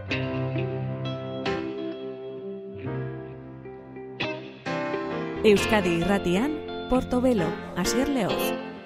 Euskadi Irratian, Portobelo, Asier Leoz.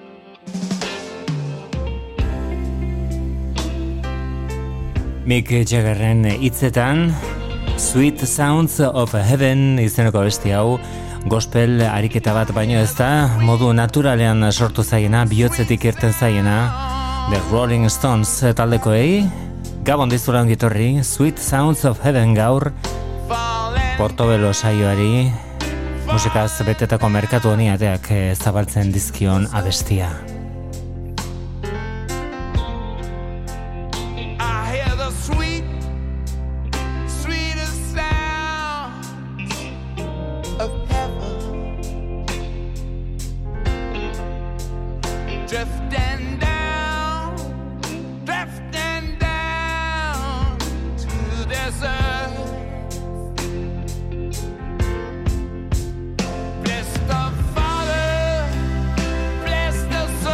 Mick Jaggerren hitzetan, Sweet Sounds of Heaven izeneko abesti hau, gospel ariketa bat baino ez da, modu naturalean sortu zaiena, bihotzetik irten zaiena, The Rolling Stones taldekoei, Gabon dizura ongitorri, Sweet Sounds of Heaven gaur, Portobelo saioari, musikaz betetako merkatu honi ateak zabaltzen dizkion abestia. Bless the Father, bless the Son.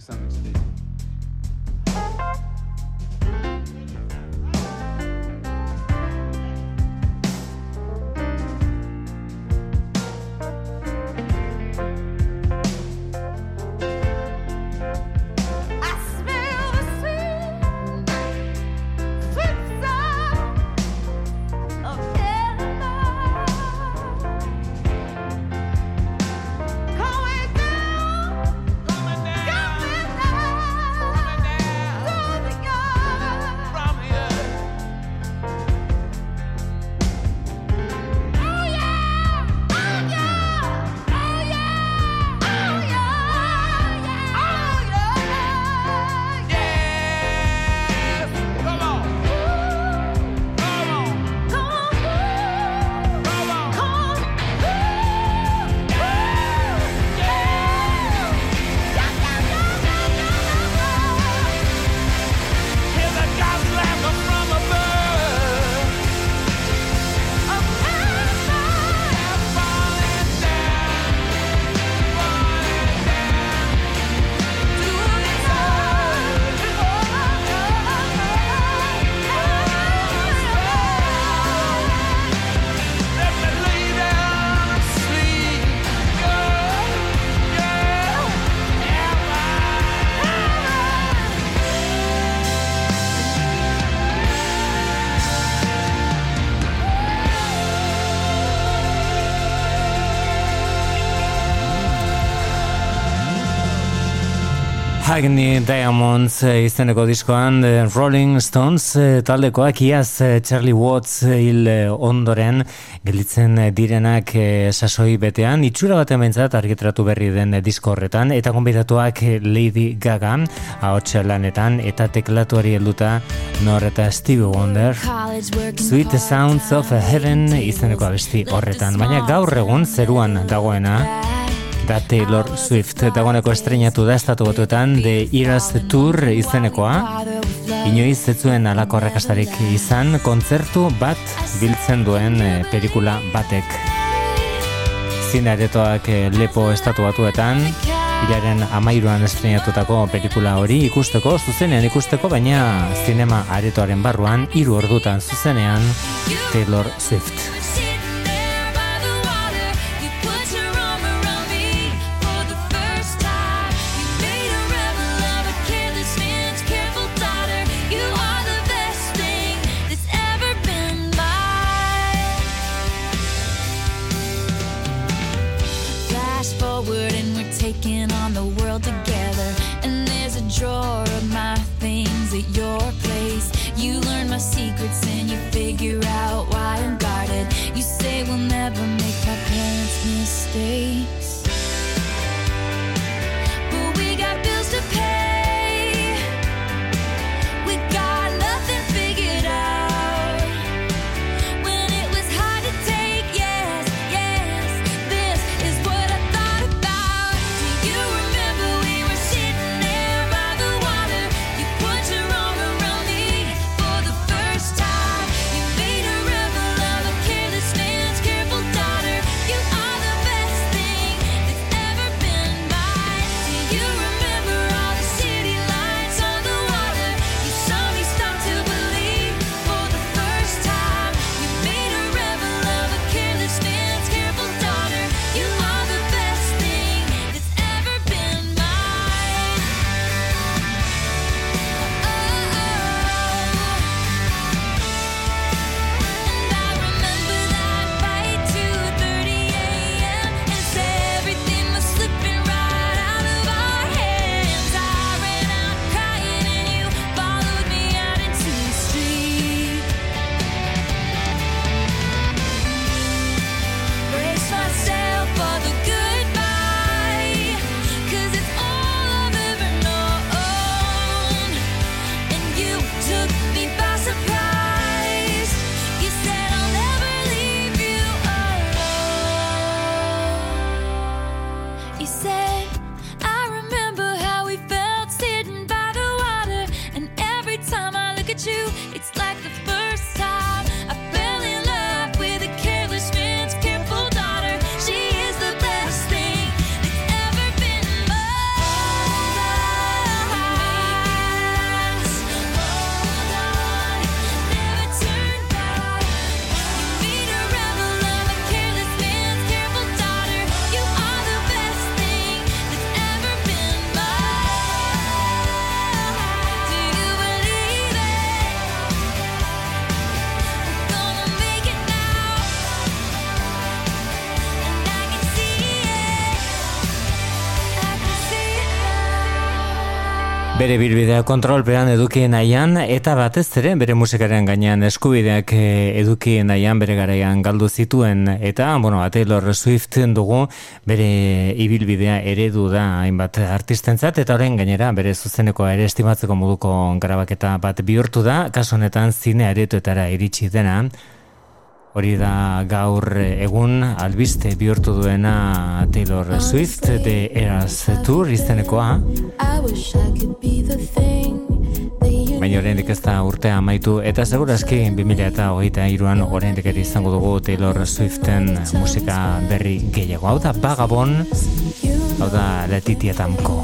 some extent. Agni Diamonds izeneko diskoan Rolling Stones taldekoak iaz Charlie Watts hil ondoren gelditzen direnak sasoi betean, itxura bat ementzat argitratu berri den disko horretan, eta konbidatuak Lady Gaga ahots lanetan eta teklatuari helduta Nor eta Stevie Wonder Sweet Sounds of Heaven izeneko abesti horretan, baina gaur egun zeruan dagoena da Taylor Swift dagoeneko estrenatu da Estatu Batuetan The Eras Tour izenekoa. Inoiz ez zuen halako arrakastarik izan, kontzertu bat biltzen duen pelikula batek. Zine aretoak lepo Estatu Batuetan, hilaren 13an estrenatutako pelikula hori ikusteko, zuzenean ikusteko, baina zinema aretoaren barruan 3 ordutan zuzenean Taylor Swift. Secrets and you figure out why I'm guarded. You Bere bilbidea kontrolpean eduki nahian eta batez ere bere musikaren gainean eskubideak eduki nahian bere garaian galdu zituen eta, Taylor Swift dugu bere ibilbidea eredu da hainbat artistentzat eta orain gainera bere zuzenekoa ere estimatzeko moduko grabaketa bat bihurtu da, kasu honetan zine aretoetara iritsi dena. Hori da gaur egun albiste bihurtu duena Taylor Swift The Eras Tour izenekoa. Baina oraindik ez da urtea amaitu eta segurazki 2023an oraindik ere izango dugu Taylor Swiften musika berri gehiago. Hau da Vagabond, hau da Letitia Tamko.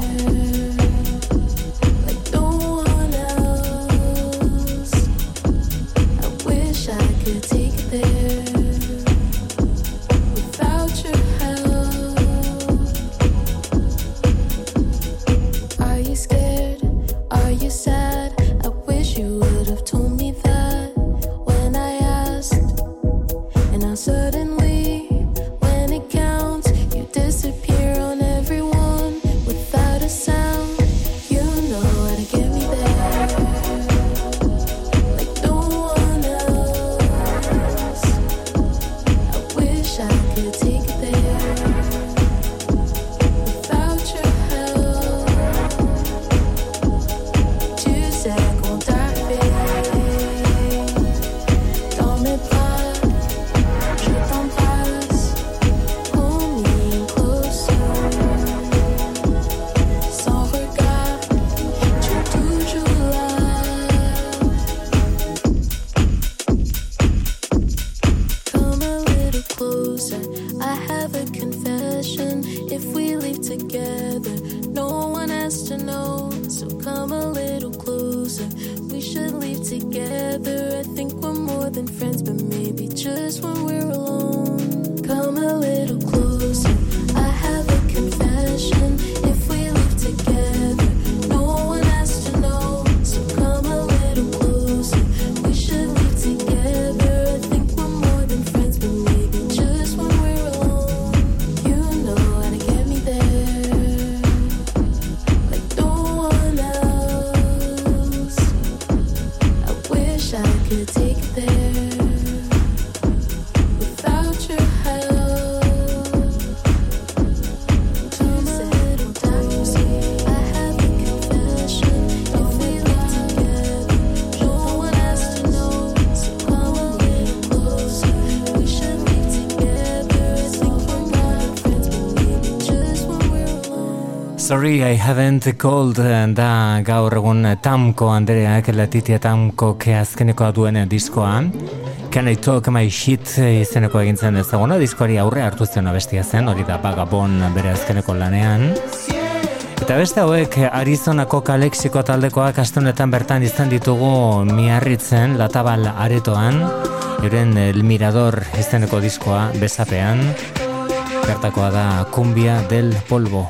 Sorry, I haven't called da gaur egun Tamko Andreak, Letitia Tamko azkenekoa duen diskoa. Can I talk my shit izeneko egintzen ezaguna, diskoari aurre hartu zen abestia zen, hori da Vagabond bere azkeneko lanean. Eta beste hauek Arizonako Kalexiko taldekoak astenetan bertan izan ditugu Miarritzen, Latabal aretoan, euren El Mirador izeneko diskoa besapean. Bertakoa da Cumbia del Polvo.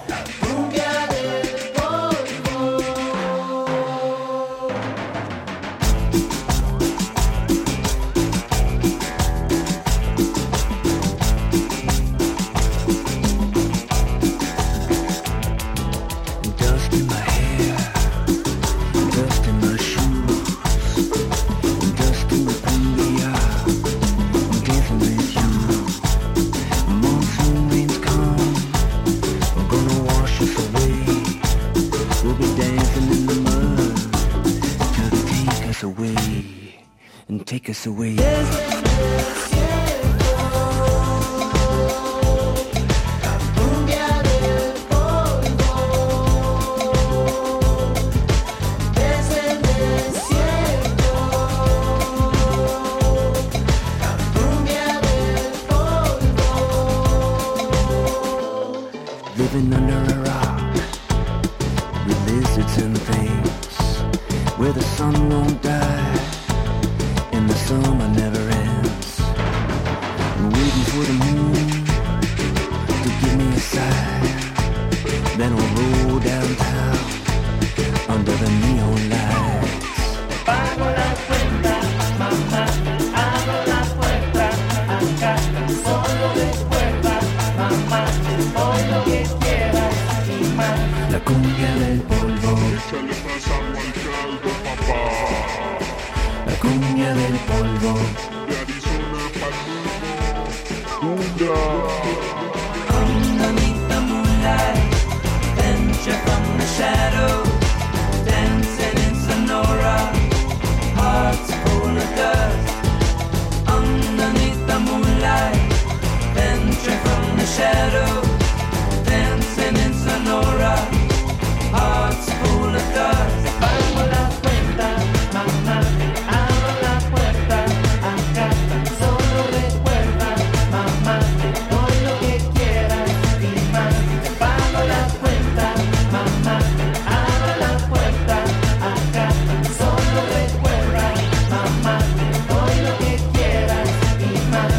La cumbia del polvo. regresamos al caldo, papá. La cumbia del polvo. De Arizona pa'l mundo. Underneath the moonlight, venture from the shadow, dancing in Sonora, hearts full of dust. Underneath the moonlight, venture from the shadow, dancing in Sonora, hearts full of dust. Pago la cuenta, mamá, abro la puerta, acá tan solo recuerda, mamá, te doy lo que quieras y más. Pago la cuenta, mamá, abro la puerta, acá tan solo recuerda, mamá, te doy lo que quieras y más.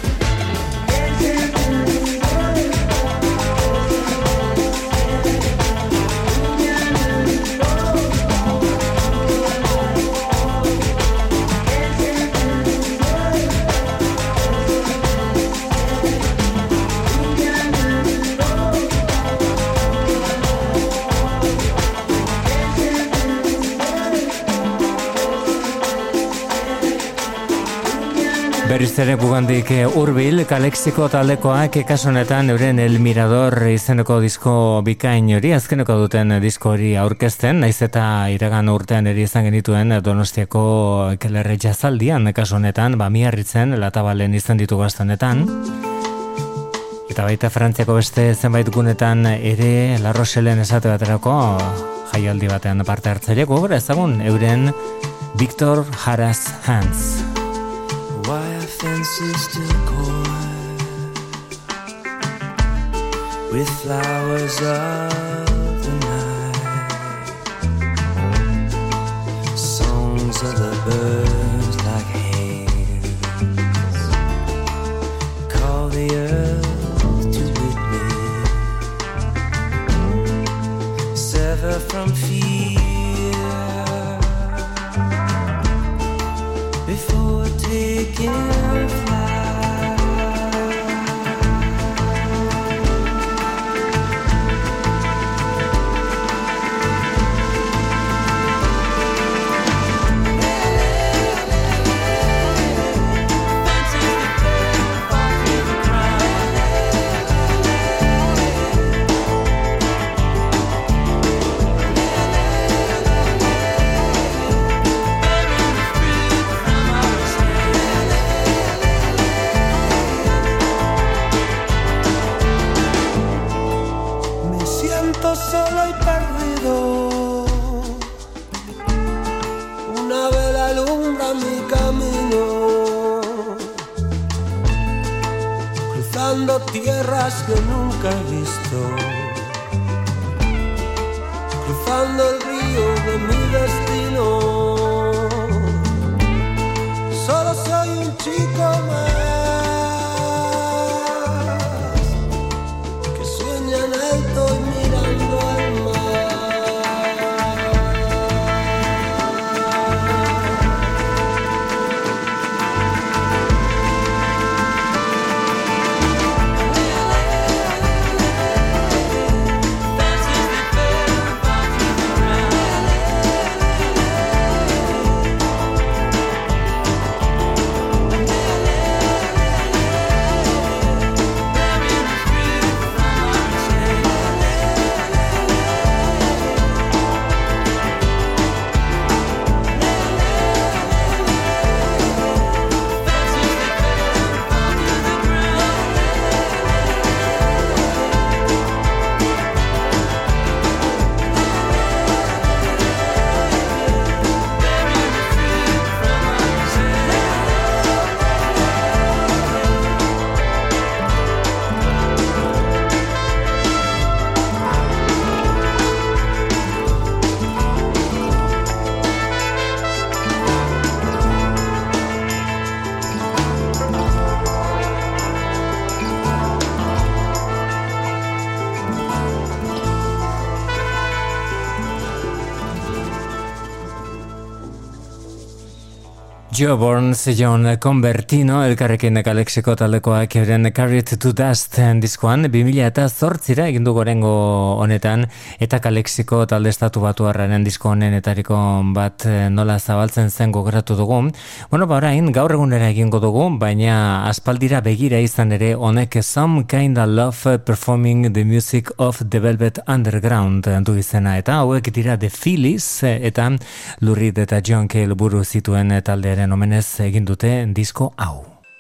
Berriz ere gugandik hurbil, Kalexiko taldekoak kasu honetan euren El Mirador izeneko disko bikain hori, azkeneko duten disko hori aurkezten, naiz eta iragan urtean ere izan genituen Donostiako Kelerre Jazaldian kasu honetan, Miarritzen, Latabalen izan ditu honetan. Eta baita Frantziako beste zenbait gunetan ere La Rochellen esate baterako jaialdi batean parte hartzaileak gogora ezagun euren Victor Jara's Hands. Wire fences still coy with flowers of the night, songs of the birds like hands call the earth to witness, sever from fear before taking flight. Solo y perdido, una vela alumbra mi camino, cruzando tierras que nunca he visto, cruzando el río de mi destino. Solo soy un chico más que sueña en alto y mirando al Joe Burns, John Convertino, elkarrekin Kalexiko taldekoak euren Carried to Dust diskoan, 2008 egin du gorengo honetan, eta Kalexiko talde estatu batuarraren disko honenetariko bat nola zabaltzen zen gogoratu dugu. Bueno, orain gaur egunera egingo dugu, baina aspaldira begira izan ere honek Some Kinda Love Performing the Music of the Velvet Underground du izena, eta hauek dira The Phillies, eta Lou Reed eta John Cale buru zituen taldearen omenez egin dute disko hau.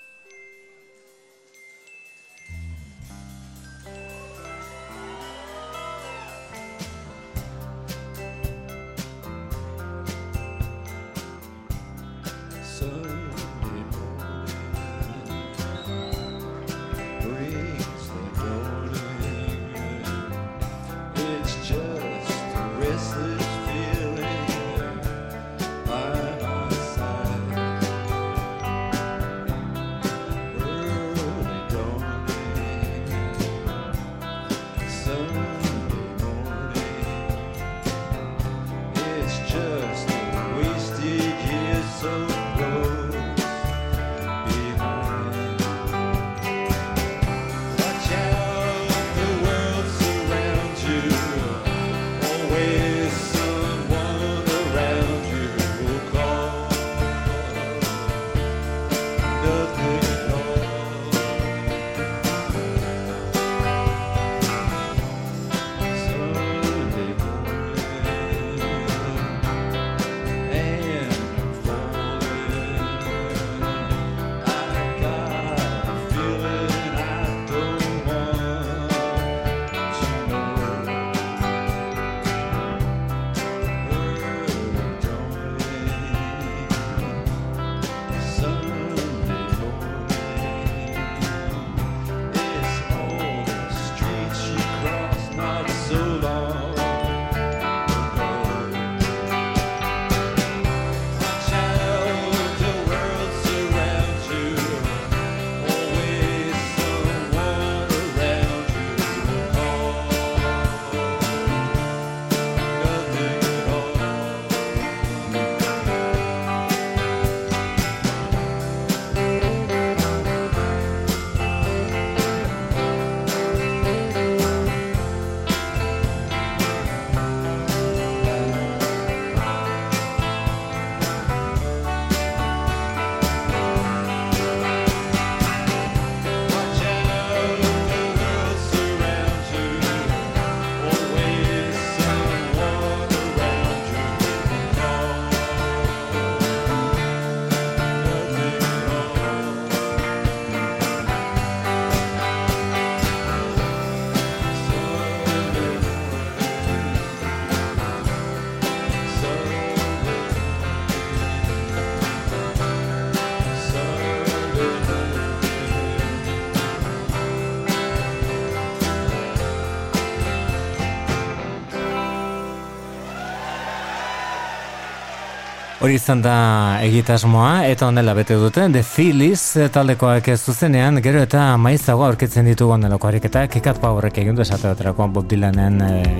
Hori izan da egitasmoa, eta honela bete dute, The Phillies taldekoak zuzenean, gero eta maizago aurkitzen ditugu onelako ariketak, Cat Powerrek egin du esate baterako Bob Dylanen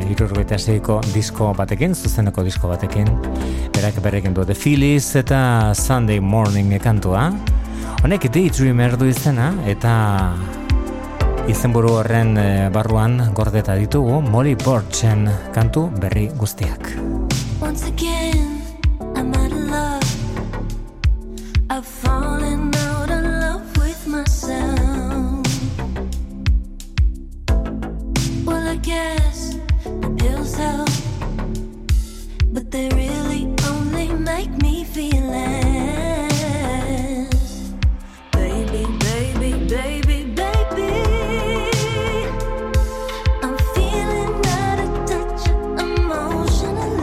76ko disko batekin, zuzeneko disko batekin, berak berrekin du The Phillies eta Sunday Morning kantua. Honek Daydreamer du izena, eta izenburu horren barruan gordeta ditugu Molly Burchen kantu berri guztiak. Once again I've fallen out of love with myself. Well, I guess the pills help, but they really only make me feel less. Baby, baby, baby, baby, I'm feeling out of touch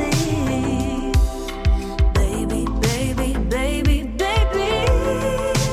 emotionally. Baby, baby, baby, baby,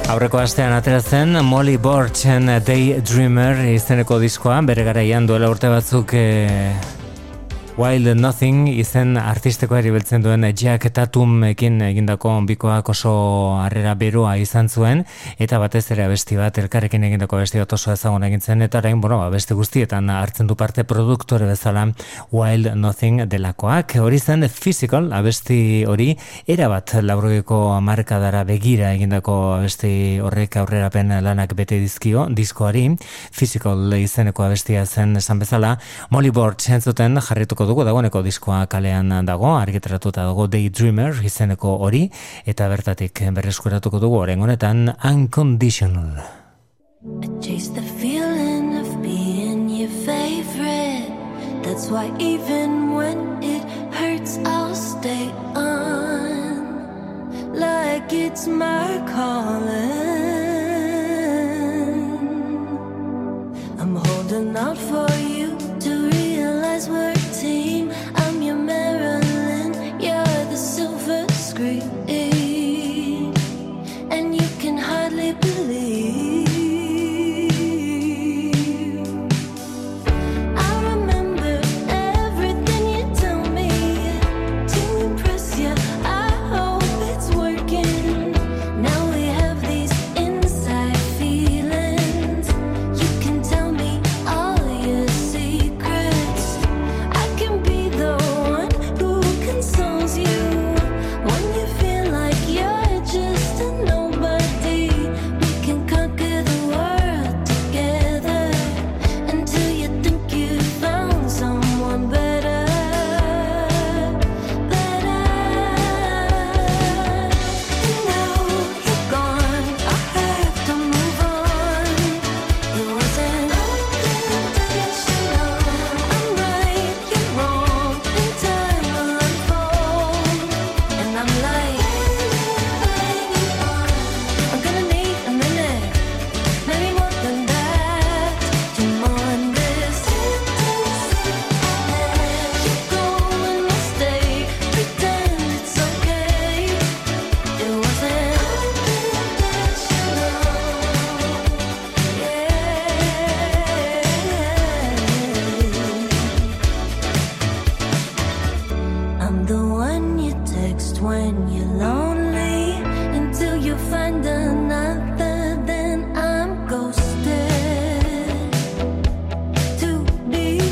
Aurreko astean atera zen Molly Burchen Daydreamer izeneko diskoa, bere garaian duela urte batzuk Wild Nothing izen artistikoa erabiltzen duen Jack Tatumekin egindako bikoak oso harrera berua izan zuen, eta batez ere abesti bat, elkarrekin egindako abesti bat oso ezagun egin zen, eta orain, abesti guztietan hartzen du parte produktore bezala Wild Nothing delakoak. Hori zen Physical, abesti hori, erabat laurogeko hamarkadara begira egindako abesti horrek aurrerapen lanak bete dizkio, diskoari. Physical izeneko abestia zen esan bezala, Molly Burch entzuten jarrituko dugu, dagoeneko diskoa kalean dago, argitaratuta dago Daydreamer izeneko hori, eta bertatik berreskuratuko dugu orain honetan Unconditional. I chase the feeling of being your favorite. That's why even when it hurts I'll stay on, like it's my calling. I'm holding out for you to realize we're a team. I'm your Marilyn, you're the silver screen, and you can hardly believe. I remember everything you tell me to impress you. I hope it's working. Now we have these inside feelings. You can tell me all your secrets. I can be the one who consoles you when you feel like you're just a nobody. We can conquer the world together until you think you found someone better, better. And now you're gone, I have to move on. It wasn't unconditional. I'm right, you're wrong, and time will unfold. And I'm like, I'm gonna need a minute, maybe more than that, to mourn this. You go and I'll stay, pretend it's okay. It wasn't unconditional. I'm the one you text when you're lonely, until you find another, then I'm ghosted. To be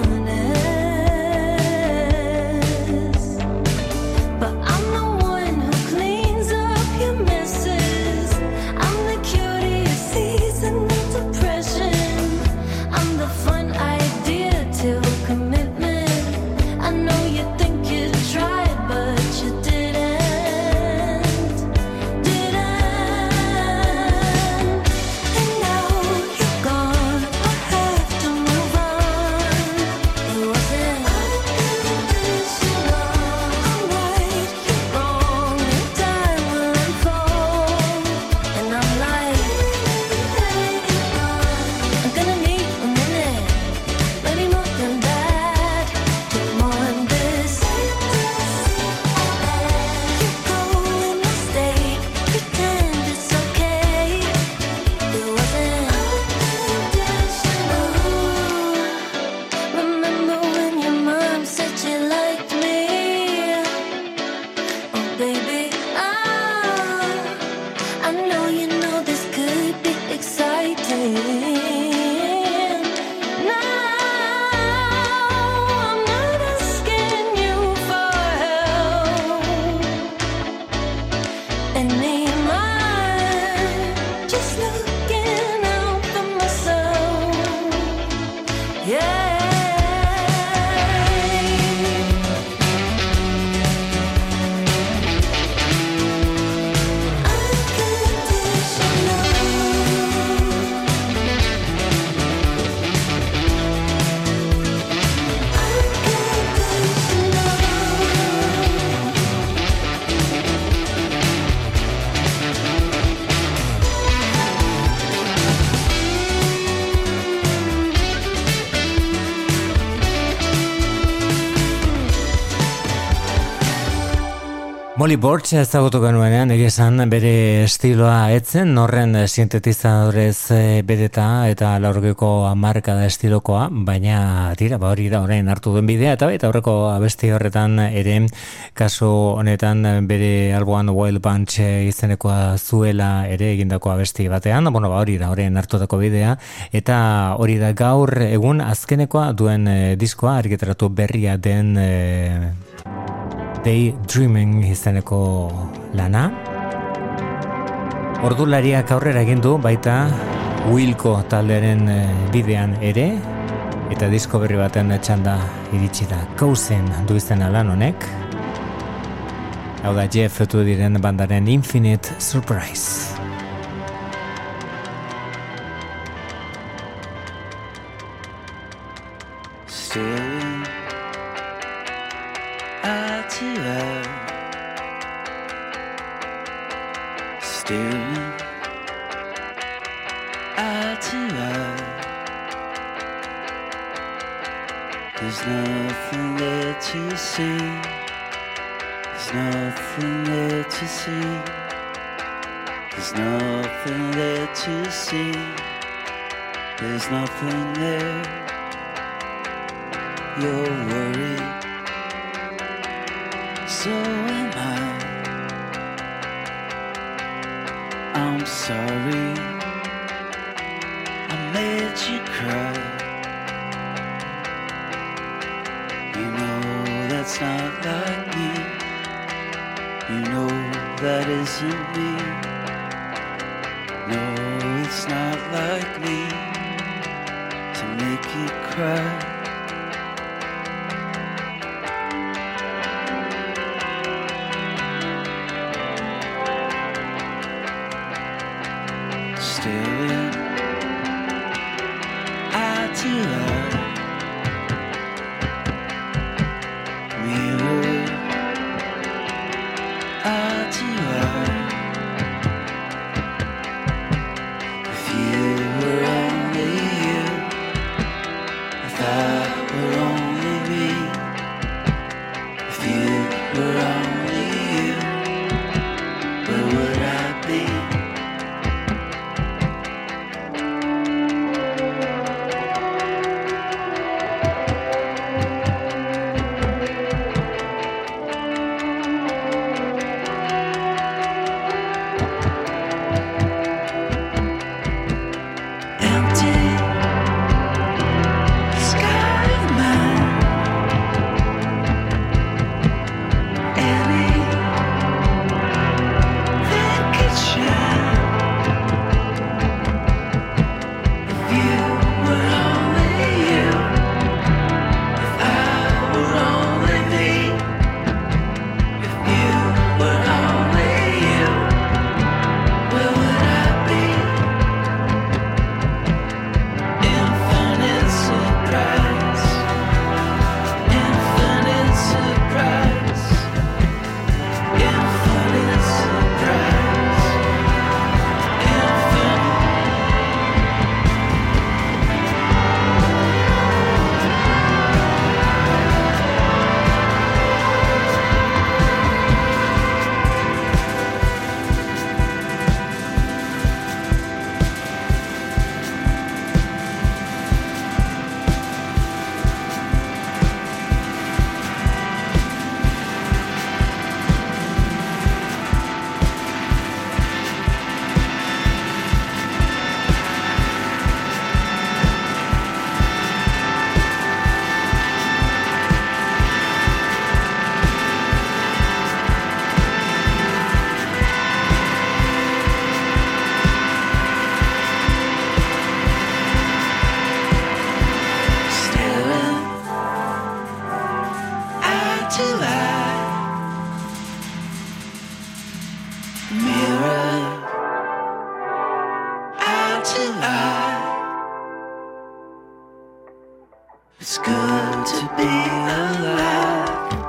honest, but I'm the one who cleans up your messes. I'm the cure to your seasonal depression. I'm the fun idea till commitment. I know you think you tried, but you didn't, didn't. And now you're gone, I have to move on. It wasn't unconditional. I'm right, you're wrong, and time will unfold. And I'm like, I'm gonna need a minute, maybe more than that, to mourn this. You go and I'll stay, pretend it's okay. It wasn't unconditional. Remember when your mom said she liked me? Oh baby, I know you know this could be exciting. Now I'm not asking you for help anymore, just looking out for myself. Yeah. Molly Borch ezagutu genuenean, egizan bere estiloa etzen, horren sintetizadorez bedeta eta laurgeko hamarkada estilokoa, baina tira, hori da orain hartu duen bidea, eta baita aurreko abesti horretan ere, kasu honetan bere alboan Wild Bunch izenekoa zuela ere egindako abesti batean, bueno, hori da orain hartutako bidea, eta hori da gaur egun azkenekoa duen diskoa, argitaratu berria den Daydreaming izeneko lana. Ordulariak aurrera egin du baita Wilco taldearen bidean ere, eta disko berri baten txanda iritsi da. Cousin du izena lan honek. Hau da Jeff diren bandaren Infinite Surprise. There's nothing there to see. There's nothing there to see. There's nothing there to see. There's nothing there. You're worried. So am I. I'm sorry I made you cry. You know that's not like me. You know that isn't me. No, it's not like me to make you cry. Staring eye to eye, mirror eye to eye. If you were only you, if I were only me, if you were only you, where would I be? It's good to be alive.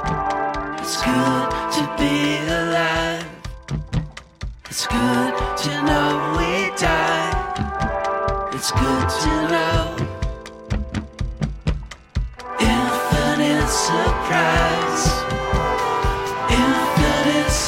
It's good to be alive. It's good to know we die. It's good to know. Infinite surprise. Infinite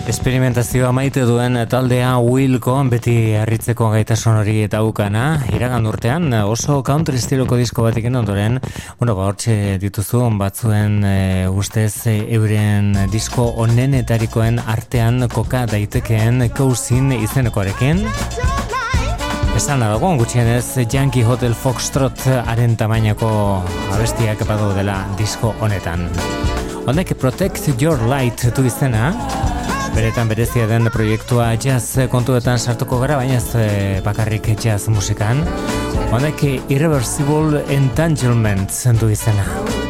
Esperimentazioa maite duen taldea Wilco, beti harritzeko gaitasun hori daukana, iragan urtean oso country estiloko disko batekin ondoren, hortxe dituzu batzuen ustez euren disko onenetarikoen artean koka daitekeen Cousin izenekoarekin. Esan dago, gutxienez Yankee Hotel Foxtrot haren tamainako abestiak badu dela disko honetan. Honek Protect Your Light du izena, beretan berezia den proiektua jazz kontuetan sartuko gara, baina ez bakarrik jazz musikan. Honek Irreversible Entanglements du izena.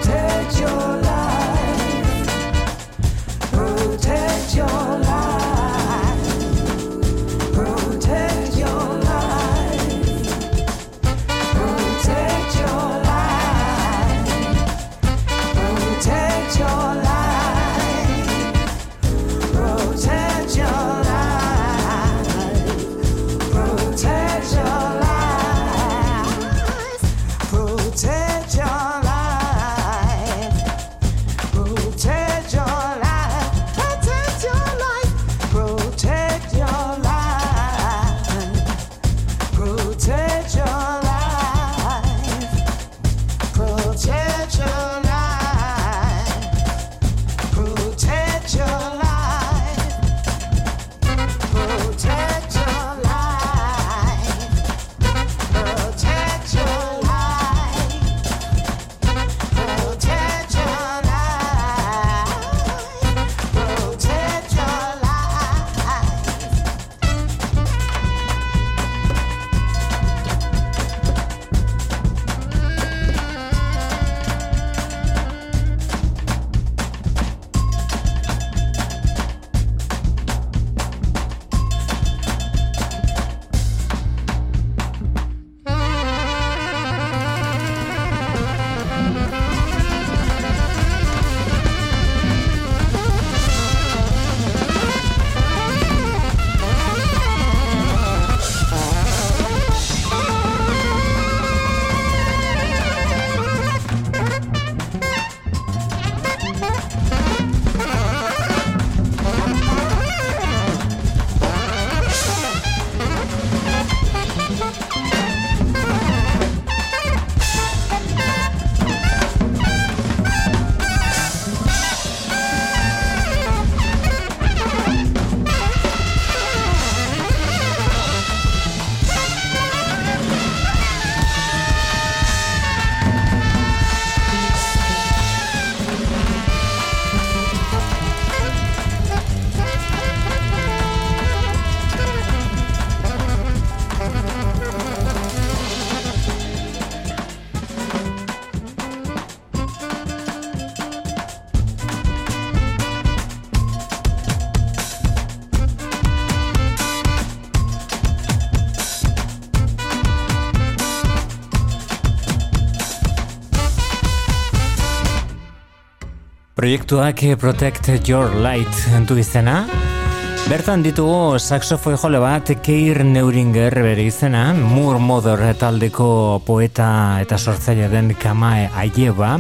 Proiektuak Protect Your Light du izena. Bertan ditugu saxofoi jole bat, Keir Neuringer bere izena, Moore Mother taldeko poeta eta sortzaile den Kamae Aieba,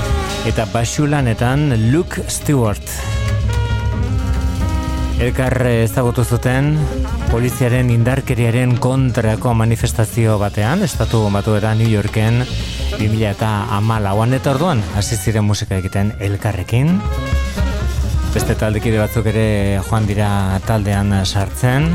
eta basulanetan Luke Stewart. Elkar ezagutu zuten poliziaren indarkeriaren kontrako manifestazio batean, estatu batuetan New Yorken 2014an, eta orduan hasi ziren musika egiten elkarrekin. Beste taldekide batzuk ere joan dira taldean sartzen.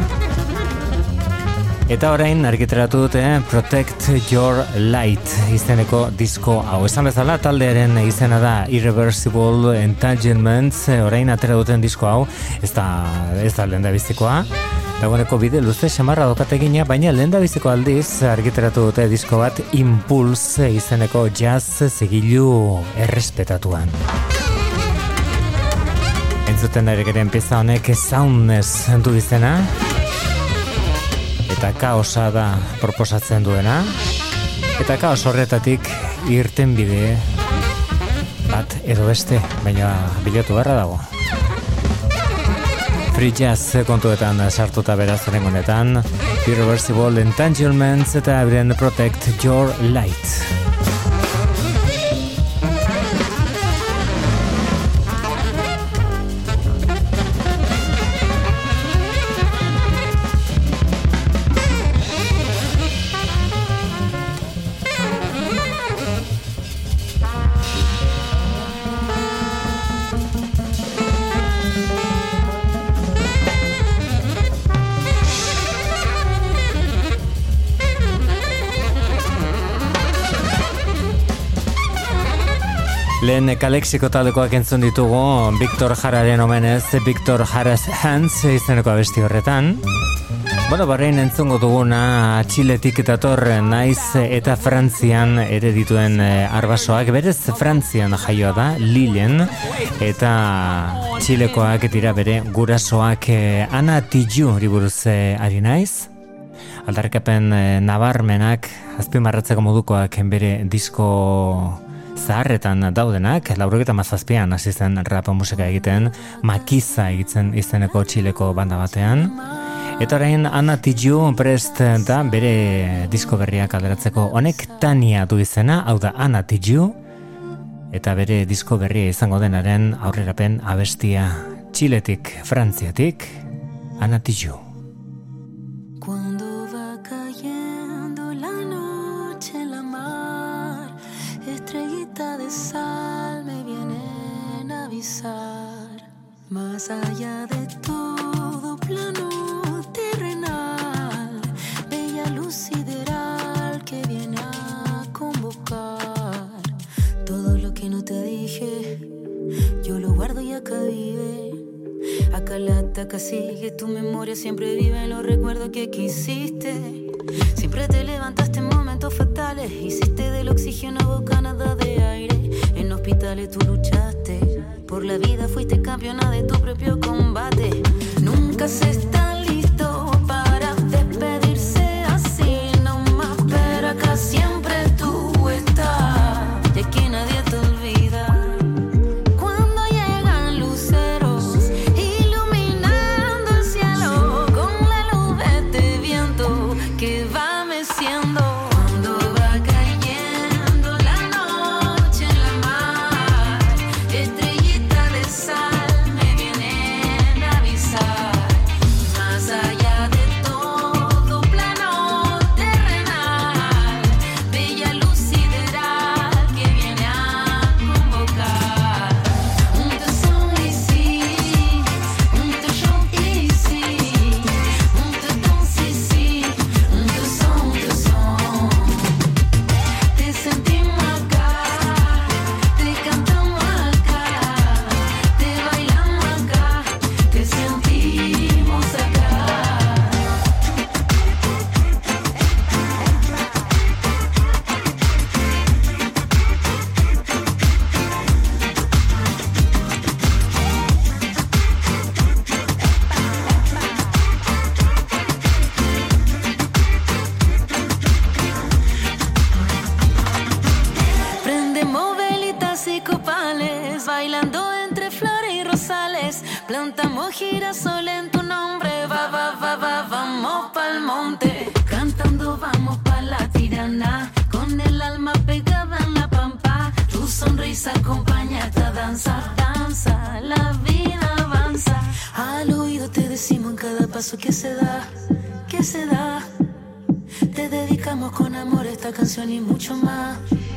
Eta orain argitaratu dute Protect Your Light izeneko disko hau. Esan bezala taldearen izena da Irreversible Entanglements, orain atera duten disko hau, ez da lehendabizikoa. Dagoeneko bide luze samarra dokategina, baina lehendabiziko aldiz argitaratu dute disko bat Impulse izeneko jazz zigilu errespetatuan. Entzuten ere geren pieza honek Soundness du izena, eta kaosa da proposatzen duena, eta kaos horretatik irten bide bat edo beste, baina bilatu beharra dago. Free Jazz kontuetan sartuta beraz honetan, Irreversible Entanglements eta euren Protect Your Light. Lehen Kalexiko taldekoak entzun ditugu Victor Jararen omenez, Victor Jara's Hands izeneko abesti horretan. Bueno, barrein entzungo duguna Txiletik dator naiz eta Frantzian ere dituen arbasoak, berez Frantzian jaioa da, Lillen, eta Txilekoak dira bere gurasoak. Ana Tijoux buruz ari naiz. Aldarrikapen nabarmenak, azpimarratzeko modukoak bere disko zaharretan daudenak, 97an hasi zen rap musika egiten, Makiza egiten izeneko Txileko banda batean. Eta orain Ana Tijoux prest da bere disko berriak alderatzeko. Honek Tania du izena, hau da Ana Tijoux, eta bere disko berria izango denaren aurrerapen abestia Txiletik, Frantziatik, Ana Tijoux. Cuando va cayendo la noche en la mar, estrellita de sal me vienen a avisar. Más allá de todo plano terrenal, bella luz sideral que viene a convocar. Todo lo que no te dije, yo lo guardo y acá vive. Acá la ataca sigue, tu memoria siempre vive en los recuerdos que quisiste. Siempre te levantaste en momentos fatales, hiciste del oxígeno bocanada de aire. En hospitales tú luchaste, por la vida fuiste campeona de tu propio combate. Nunca se está listo para despedirse así nomás, pero acá siempre tú estás, y aquí nadie te olvida. Cuando llegan luceros iluminando el cielo con la luz de este viento que va meciendo. Cuando va cayendo la noche en la mar, estrellita de sal me vienen a avisar. Más allá de todo plano terrenal, bella luz sideral que viene a convocar. Un te son ici, un te chante ici, un te danse ici, un te son, te son. Te sentimos acá, te cantamos acá, te bailamos acá, te sentimos acá. Prendemos velitas y copales, bailando entre flores y rosales. Plantamos girasol en tu nombre, vamos pa'l monte. Cantando vamos pa' la tirana, con el alma pegada en la pampa. Tu sonrisa acompaña esta danza, danza, la vida avanza. Al oído te decimos en cada paso que se da, que se da. Te dedicamos con amor esta canción y mucho más.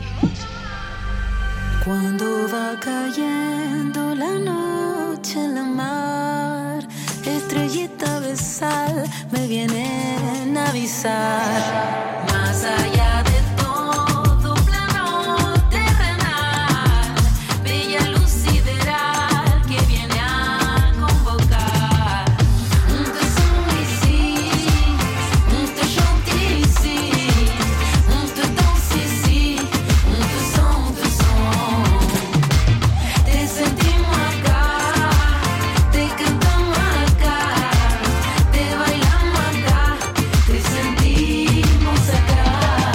Cuando va cayendo la noche en la mar, estrellita de sal me vienen a avisar. Más allá de todo plano terrenal, bella luz sideral que viene a convocar. Un te son ici, un te chante ici, un te danse ici, un te son, te son. Te sentimos acá, te cantamos acá, te bailamos acá, te sentimos acá.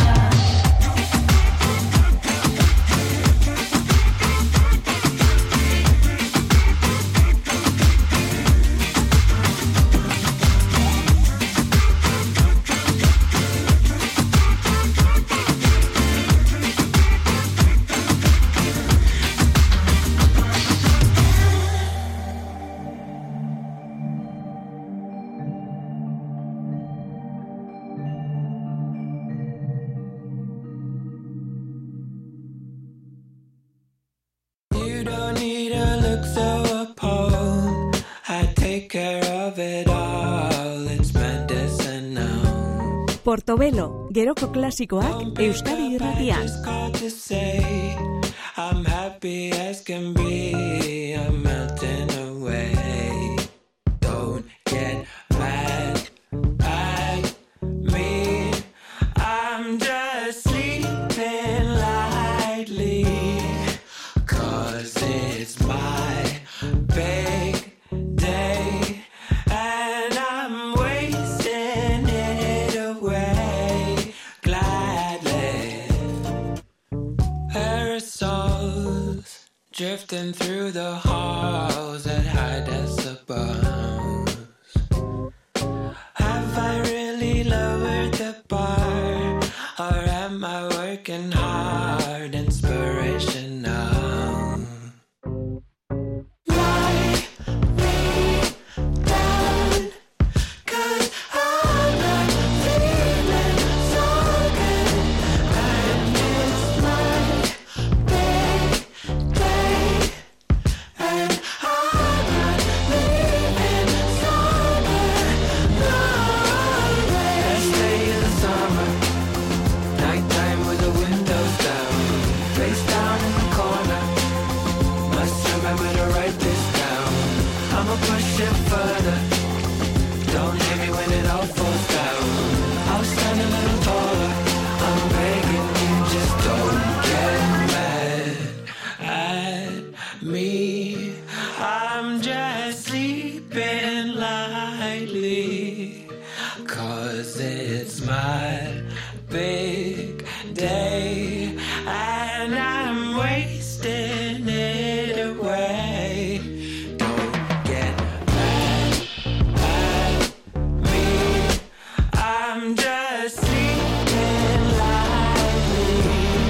You don't need to look so appalled. I take care of it all. It's medicinal. Portobelo, geroko klasikoak Euskadi Irratian. Just called to say I'm happy. happy as can be. I'm melting away. Don't get mad at me. I'm just sleeping lightly. 'Cause it's my big day. And I'm wasting it away gladly. Aerosols drifting through the halls at high decibels. Have I really lowered the bar? Or am I working hard, inspirational? Lie me down, 'cause I'm not feeling so good. And it's my big day. And I'm not leaving summer, no way. Last day of the summer, nighttime with the windows down, face down in the corner. Must remember to write this down. I'ma push it further. Don't hit me when it all falls down. I'll stand a little taller. I'm begging you, just don't get mad at me. I'm just sleeping lightly. 'Cause it's my big day. And I'm wasting it away. Don't get mad at me. I'm just sleeping lightly.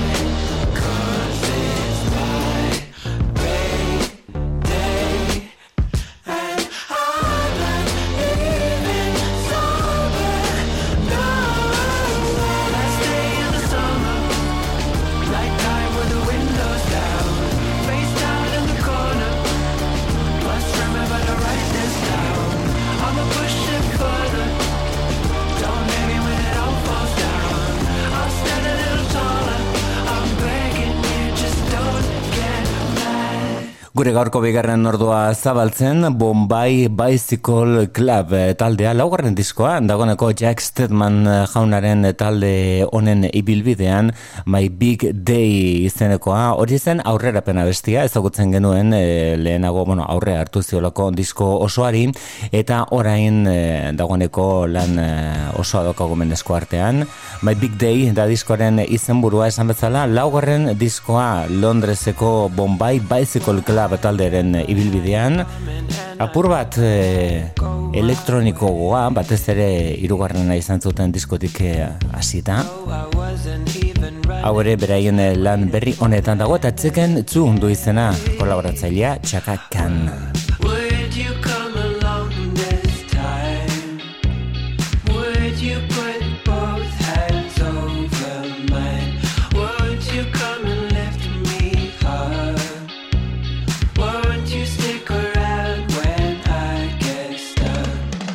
'Cause it's my big day. And I'm not leaving summer, no way. Last day of the summer, nighttime with the windows down, face down in the corner. Must remember to write this down. I'ma push it further. Don't hit me when it all falls down. I'll stand a little taller. I'm begging you, just don't get mad. Gure gaurko bigarren ordua zabaltzen, Bombay Bicycle Club taldea, laugarren diskoa, dagoeneko Jack Stedman jaunaren talde honen ibilbidean, My Big Day izenekoa, hori zen aurrerapena bestia, ezagutzen genuen lehenago, aurre hartu ziolako disko osoari, eta orain dagoeneko lan osoa daukagumen esku artean. My Big Day da diskoaren izenburua esan bezala, laugarren diskoa Londreseko Bombay Bicycle Club talderen ibilbidean, apur bat elektroniko goa, batez ere hirugarrena izan zuten diskotik hasita. Hau ere beraien lan berri honetan dago, eta Chicken 2 du izena, kolaboratzailea Chaka Khan. Would you come along this time? Would you put both hands over mine? Would you come and lift me up? Won't you stick around when I get stuck?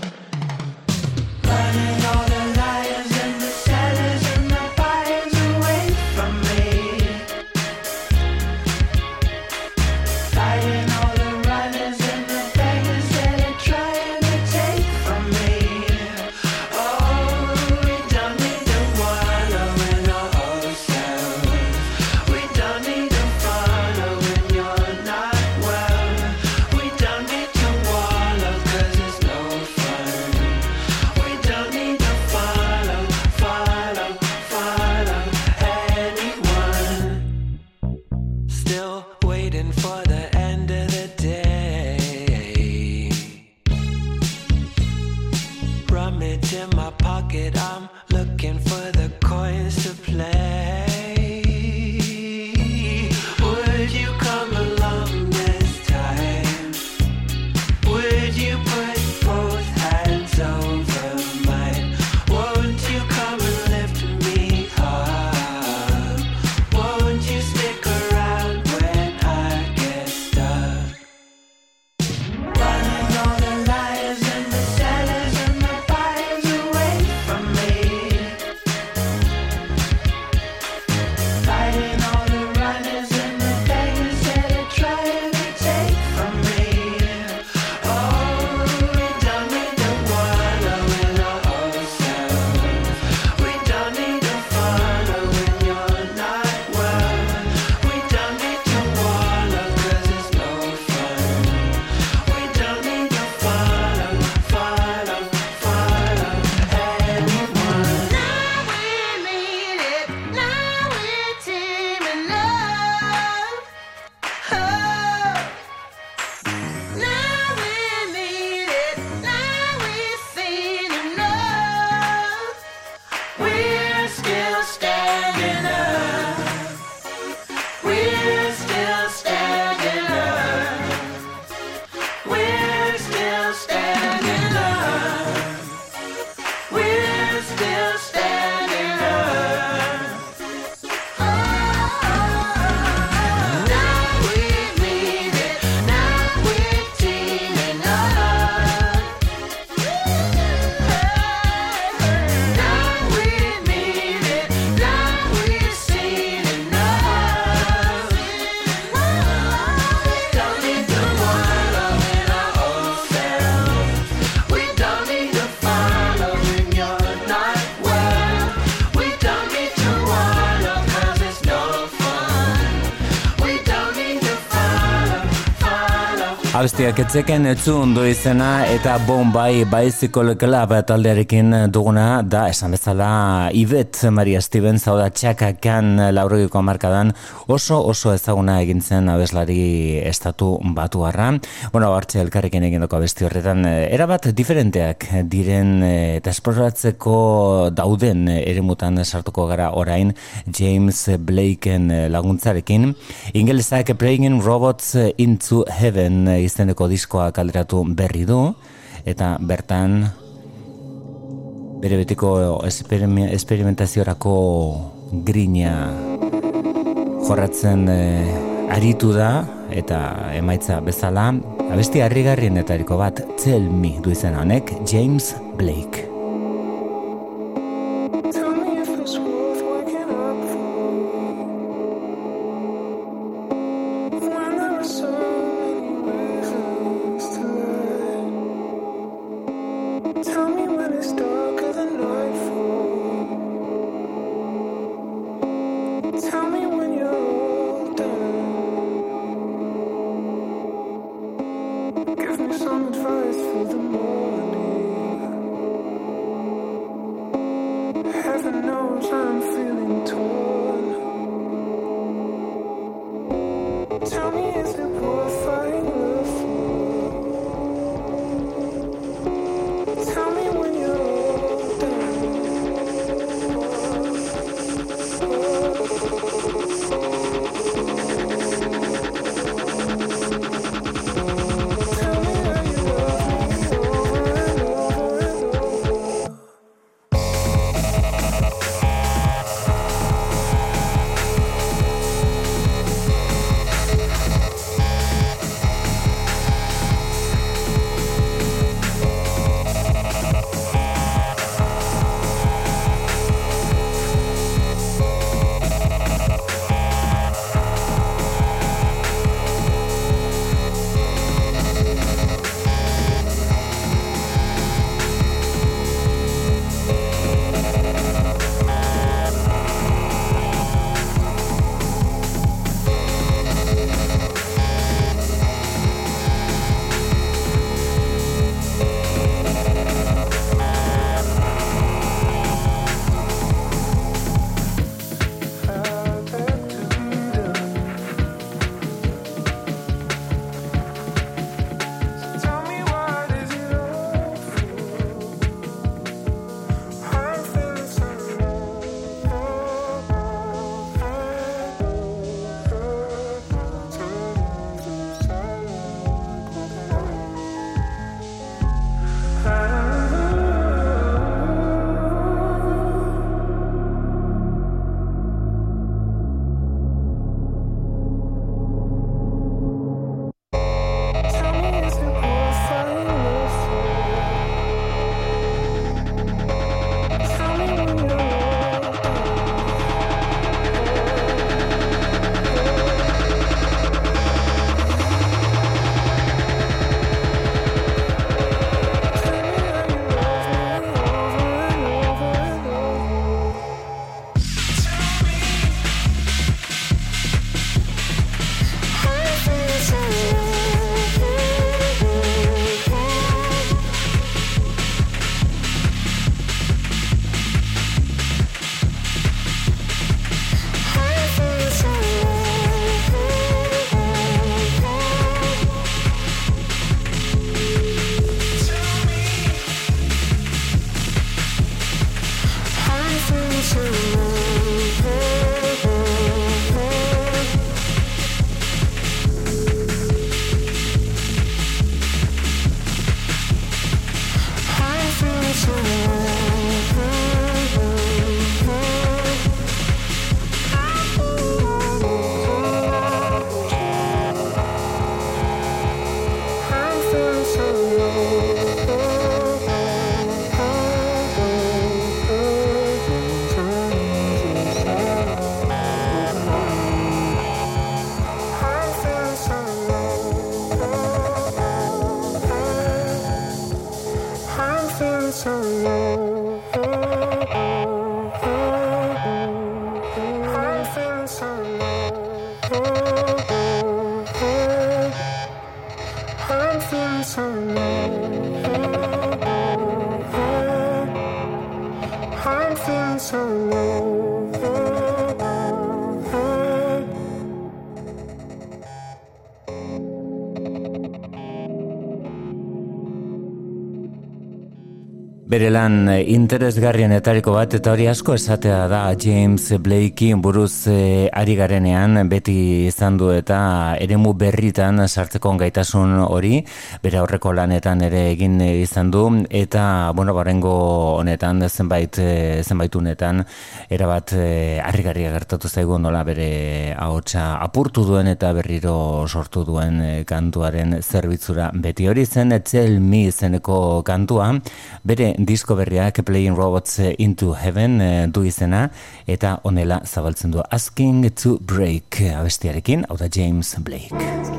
Running all the liars and the sellers and the buyers away from me. Fighting all the runners Abestiak etzeken etzun du izena eta Bombay Bicycle Club taldearekin duguna da esan bezala Yvette Maria Stevens, hau da Chaka Khan 80ko hamarkadan oso ezaguna egin zen abeslari estatu batuarra. Bueno, hartze elkarrekin egindako abesti horretan erabat diferenteak diren eta esploratzeko dauden eremutan sartuko gara orain James Blakeen laguntzarekin. Ingelesak Playing Robots into Heaven izeneko diskoa kaleratu berri du eta bertan bere betiko esperimentaziorako grina jorratzen aritu da eta emaitza bezala abesti harrigarrienetariko bat Tell Me du izena honek James Blake. I'm feeling so low. Bere lan interesgarrienetariko bat eta hori asko esatea da James Blakey buruz ari garenean beti izan du eta eremu berritan sartzeko gaitasun hori bere aurreko lanetan ere egin izan du eta barengo honetan zenbait unetan erabat harrigarria gertatu zaigu nola bere ahotsa apurtu duen eta berriro sortu duen kantuaren zerbitzura beti hori zen Tell Me izeneko kantua bere disko berriak Playing Robots Into Heaven du izena eta honela zabaltzen du Asking to Break abestiarekin, hau da James Blake.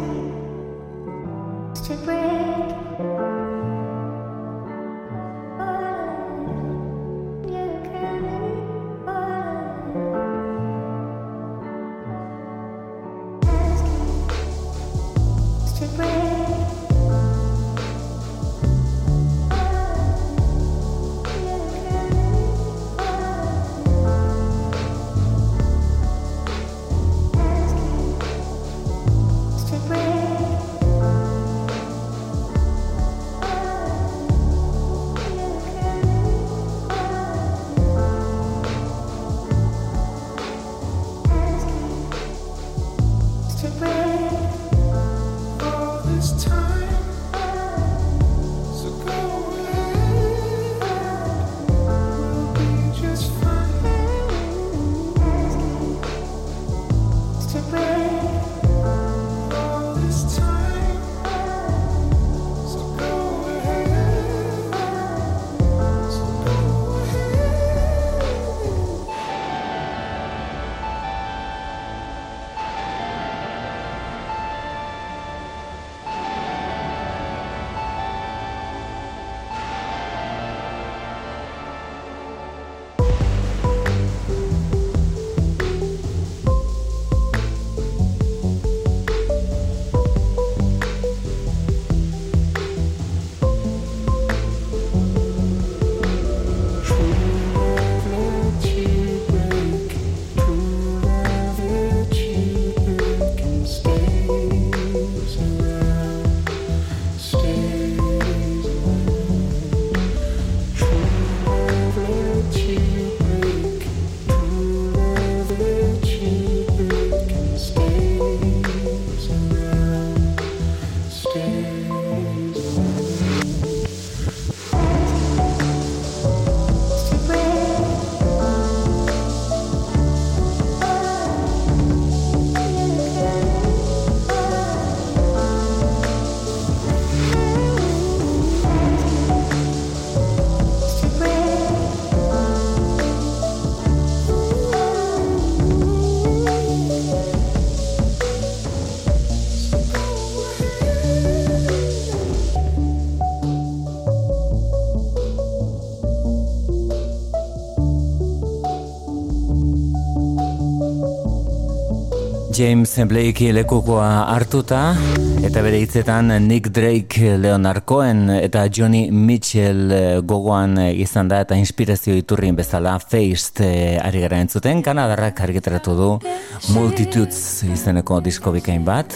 James Blakey lekukoa hartuta eta bere hitzetan Nick Drake, Leonard Cohen eta Johnny Mitchell gogoan izan da eta inspirazio iturrin bezala Faced ari gara entzuten. Kanadarrak argitaratu du Multitudes izeneko disko bikain bat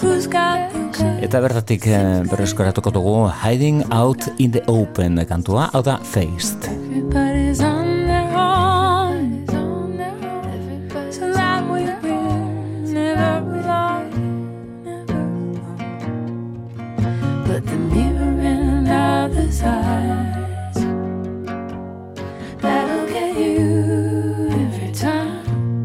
eta bertatik berreskoratuko dugu Hiding Out in the Open kantua, hau da Faced. Everybody's on their own, so that we will never belong, but the mirror and other's eyes, that'll get you every time.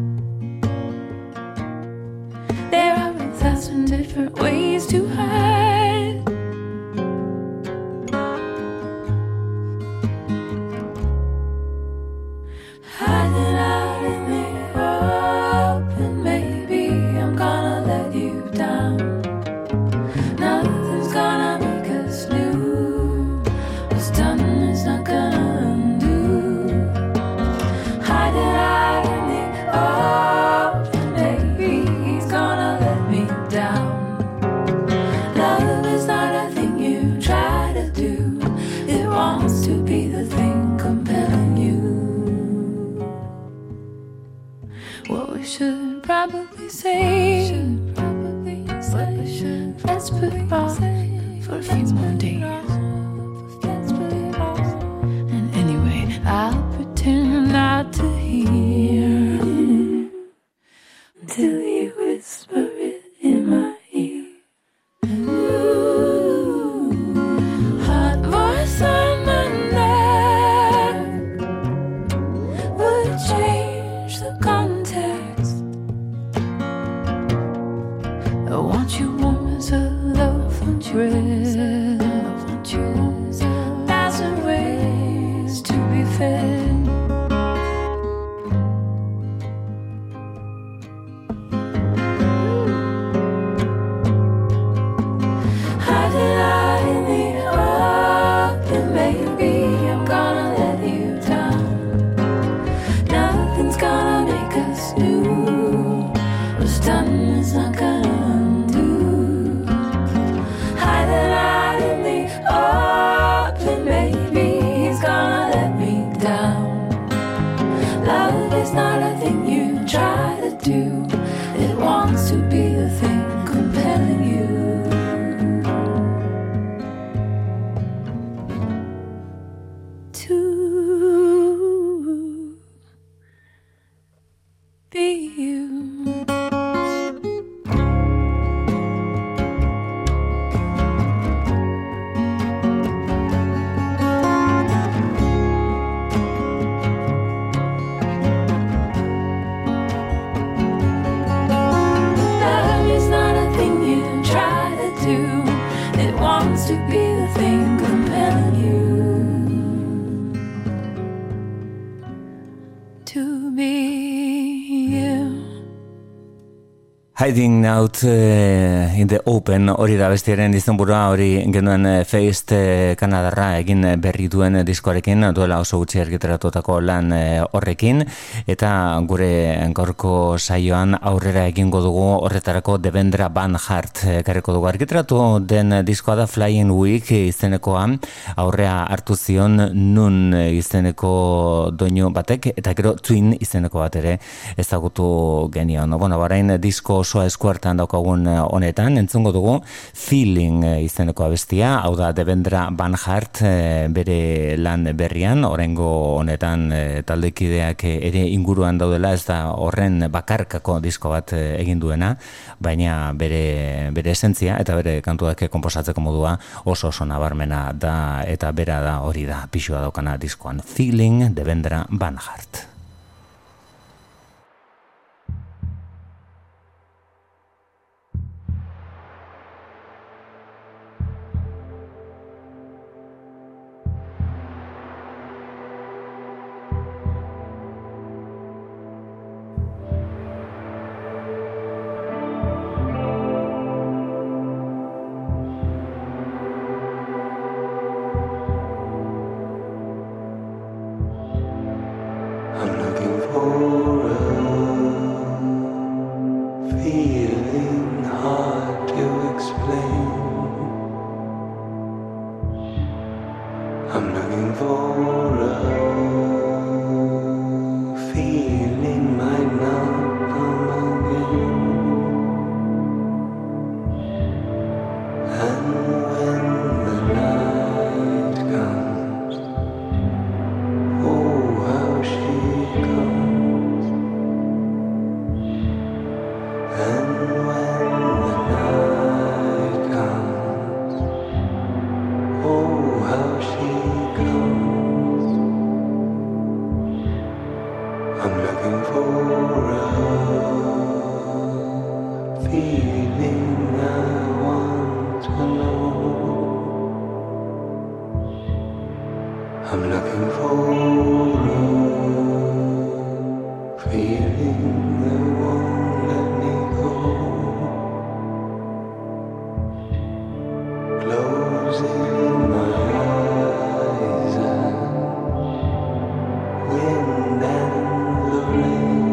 There are 1,000 different ways to hide. probably say, let's put it off for a few more days. And anyway, I'll pretend not to hear until you whisper it in my ear. Hot voice on my neck would change the context. I want you warm as a loaf of bread. I want you 1,000 ways to be fed. Hiding out in the open, baby, I'm gonna let you down. Nothing's gonna make us new. What's done is not gonna undo. Hiding out in the open, baby, he's gonna let me down. Love is not a thing you try to do. It wants to be the thing compelling you. To be you. Love is not a thing you try to do. It wants to be the thing compelling you. To be you. Hiding Out in the Open, hori da bestiaren izenburua, hori genuen Feist Kanadarra egin berri duen diskoarekin, duela oso gutxi argitaratutako lan horrekin, eta gure gaurko saioan aurrera egingo dugu horretarako Devendra Banhart ekarriko dugu. Argitaratu den diskoa da Flying Week izenekoa, aurrea hartu zion Nun izeneko doinu batek, eta gero Twin izeneko bat ere ezagutu genion. Bueno, barain disko osoa eskuartan daukagun honetan, entzungo dugu Feeling izeneko abestia, hau da Devendra Banhart bere lan berrian, oraingo honetan taldekideak ere inguruan daudela, ez da horren bakarkako disko bat egin duena, baina bere esentzia eta bere kantuak konposatzeko modua oso nabarmena da, eta bera da hori da pixua daukana diskoan. Feeling, Devendra Banhart. I'm looking for a feeling hard to explain. I'm looking for a feeling might not come again. And when the night comes, oh, how she comes. And when the night comes, oh, how she comes. I'm looking for a feeling I want to know. I'm looking for a feeling that won't let me go. Closing my eyes and wind and the rain,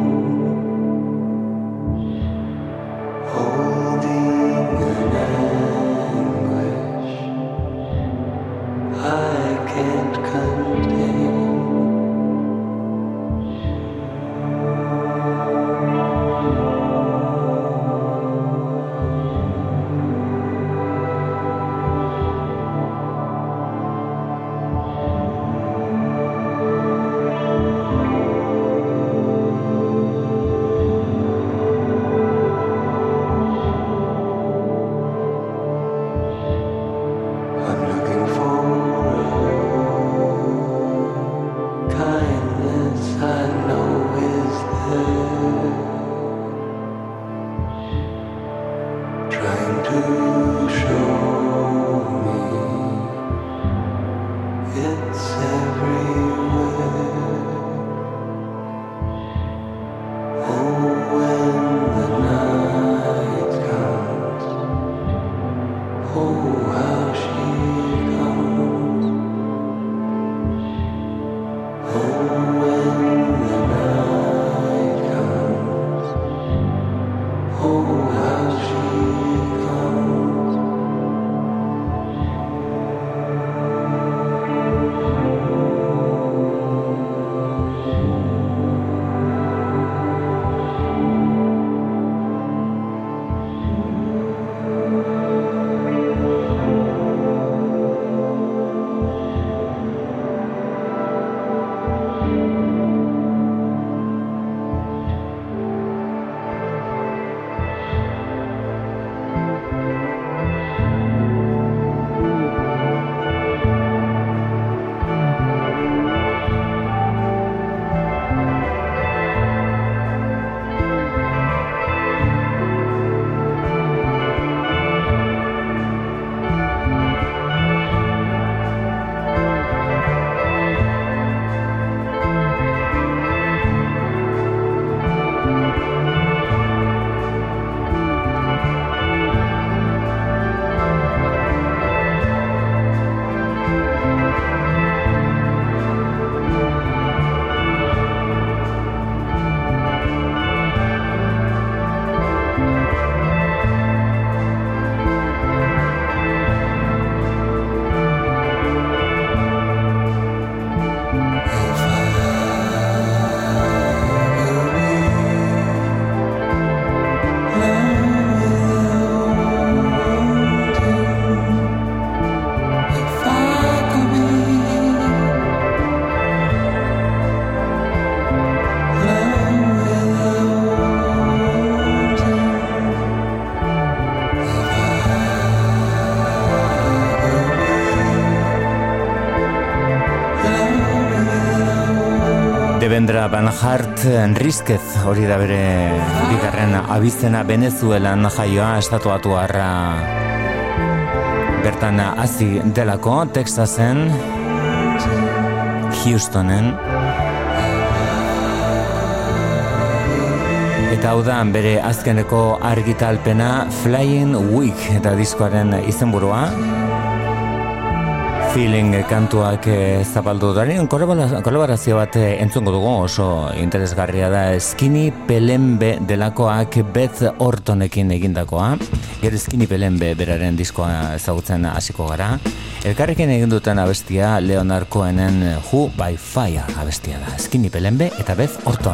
holding an anguish I can't contain. It's everywhere. Oh, when the night comes, oh, how she comes. Oh, when the night comes, oh, how she comes. Devendra Banhart Enríquez hori da bere bigarren abizena, Venezuelan jaioa, estatuatuarra bertan hasi delako, Texasen, Houstonen. Eta hau da bere azkeneko argitalpena, Flying Week eta diskoaren izenburua. Feeling kantuak zapaldu daren kolaborazio bat entzungo dugu, oso interesgarria da, Skinny Pelembe delakoak Beth Ortonekin egindakoa. Gero Skinny Pelembe beraren diskoa ezagutzen hasiko gara. Elkarrekin egin duten abestia Leonard Cohenen Who by Fire abestia da. Skinny Pelembe eta Beth Orton.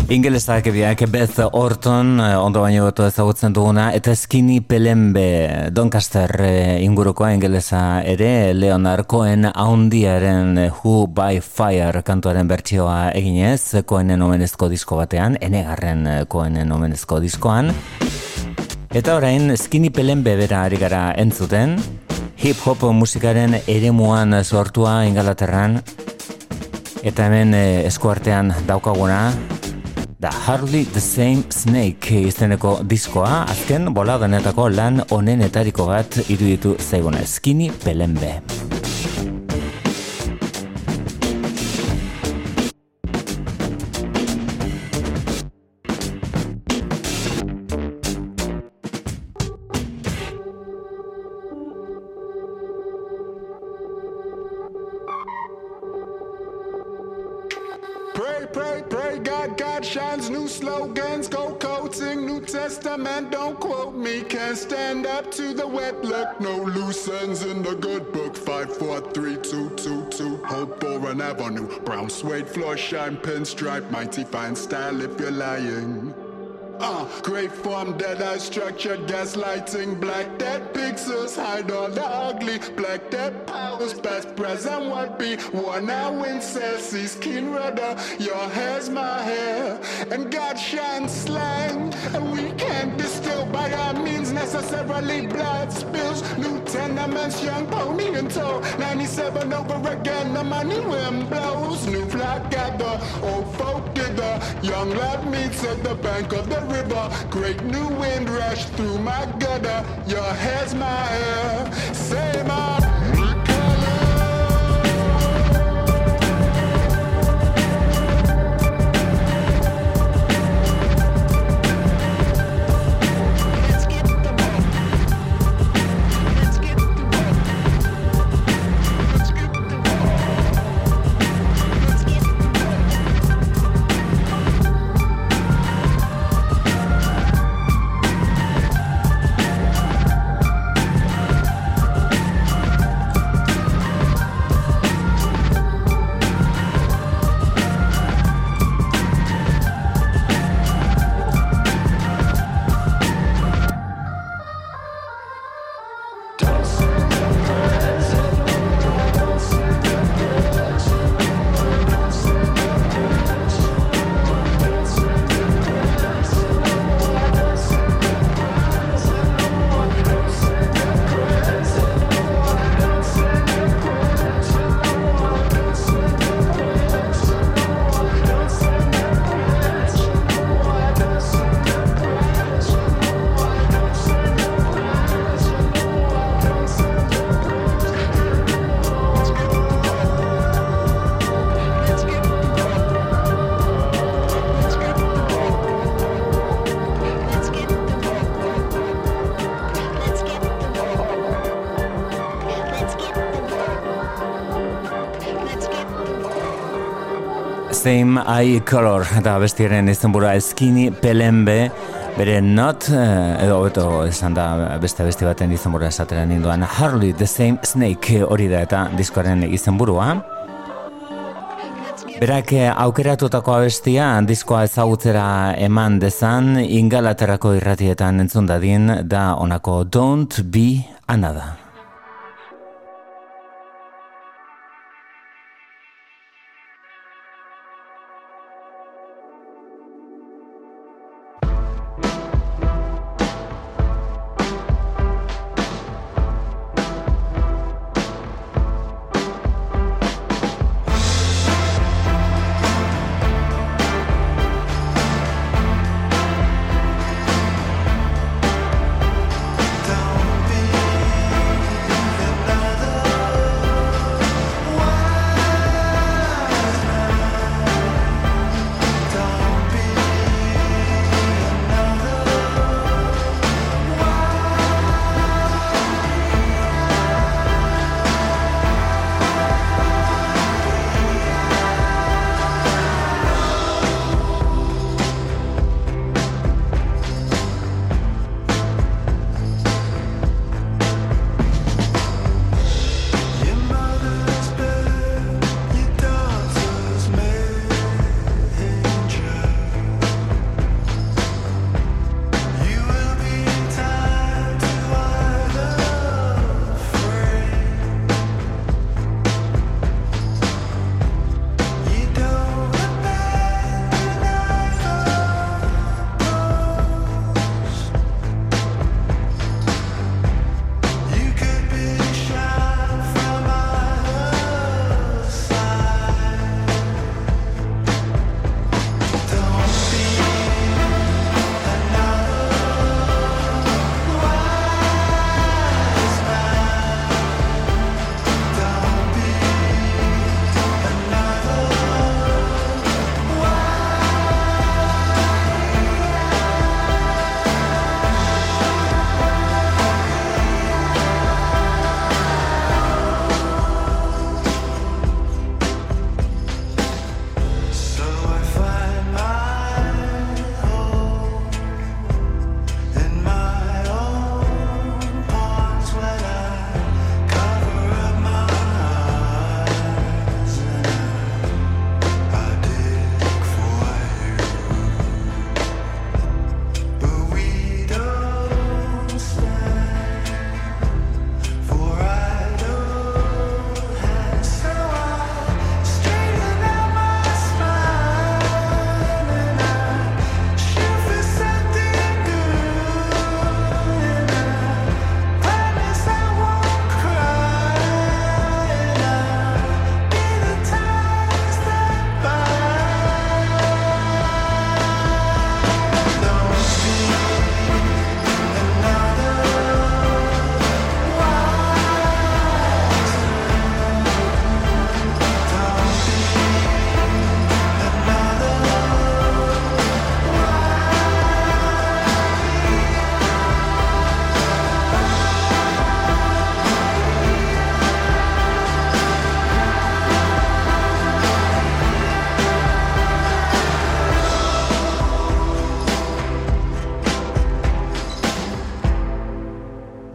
Ingelesak biak Beth Orton, ondo baino goto ezagutzen duguna, eta Skinny Pelembe, Doncaster ingurukoa ingelesa ere, Leonard Cohen haundiaren Who by Fire kantuaren bertsioa eginez, Cohenen omenezko disko batean, enegarren Cohenen omenezko diskoan. Eta orain Skinny Pelembe bera ari gara entzuten, hip-hop musikaren eremuan sortua Ingalaterran, eta hemen eskuartean daukaguna, da Hardly the Same Snake izeneko diskoa, azken boladanetako lan onenetariko bat iruditu zaiguna, Skinny Pelembe. Pray, God shines, new slogans, gold coating, New Testament, don't quote me, can't stand up to the wet look, no loose ends in the good book, 5, 4, 3, 2, 2, 2, Hope for an avenue, brown suede floor, shine, pinstripe, mighty fine style if you're lying. Great form, dead-eye structure, gaslighting, black dead pixels, hide all the ugly, black dead powers, past, present, what be, one now in Celsius, skin rudder, your hair's my hair, and God shines slang, and we can't distill by our means necessarily blood spills, new tenements, young pony and toe, 97 over again, the money wind blows, new flock gather, old folk dither, young lad meets at the bank of the river, great new wind rush through my gutter, your hair's my hair, say my Same Eye Color, eta bestiaren izenburua Skinny Pelembe, bere Not, edo beto esan da beste baten izenburua esatera ninduan, Hardly the Same Snake hori da eta diskoaren izenburua. Berak aukeratutako abestia diskoa ezagutzera eman dezan, Ingalaterrako irratietan entzun dadin, da honako Don't Be Another. Don't be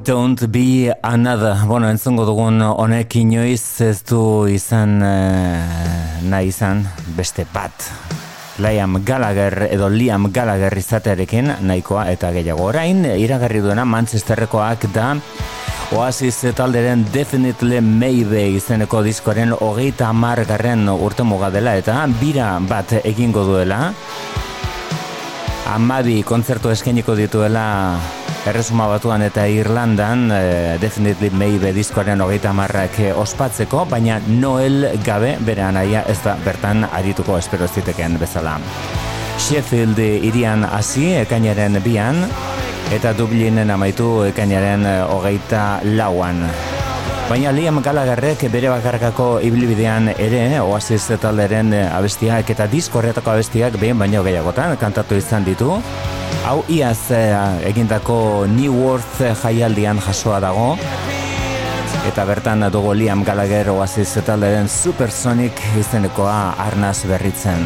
Don't be another. Bueno, entzungo dugun honek inoiz ez du izan nahi izan beste bat. Liam Gallagher izatearekin nahikoa eta gehiago. Orain iragarri duena Manchesterrekoak da Oasis talderen Definitely Maybe izeneko diskoaren 30. urtemuga dela eta bira bat egingo duela. 12 kontzertu eskainiko dituela Erresuma Batuan eta Irlandan Definitely Maybe diskoaren 30 ospatzeko, baina Noel gabe bere anaia ez da bertan arituko espero ziteken bezala. Sheffield hirian hasi ekainaren 2 eta Dublinen amaitu ekainaren 24. Baina Liam Gallagherrek bere bakarkako ibilbidean ere Oasis talderen abestiak eta disko horretako abestiak behin baino gehiagotan kantatu izan ditu. Hau iaz egindako New Worth jaialdian jasoa dago. Eta bertan dugu Liam Gallagher Oasis talderen Supersonic izenekoa arnaz berritzen.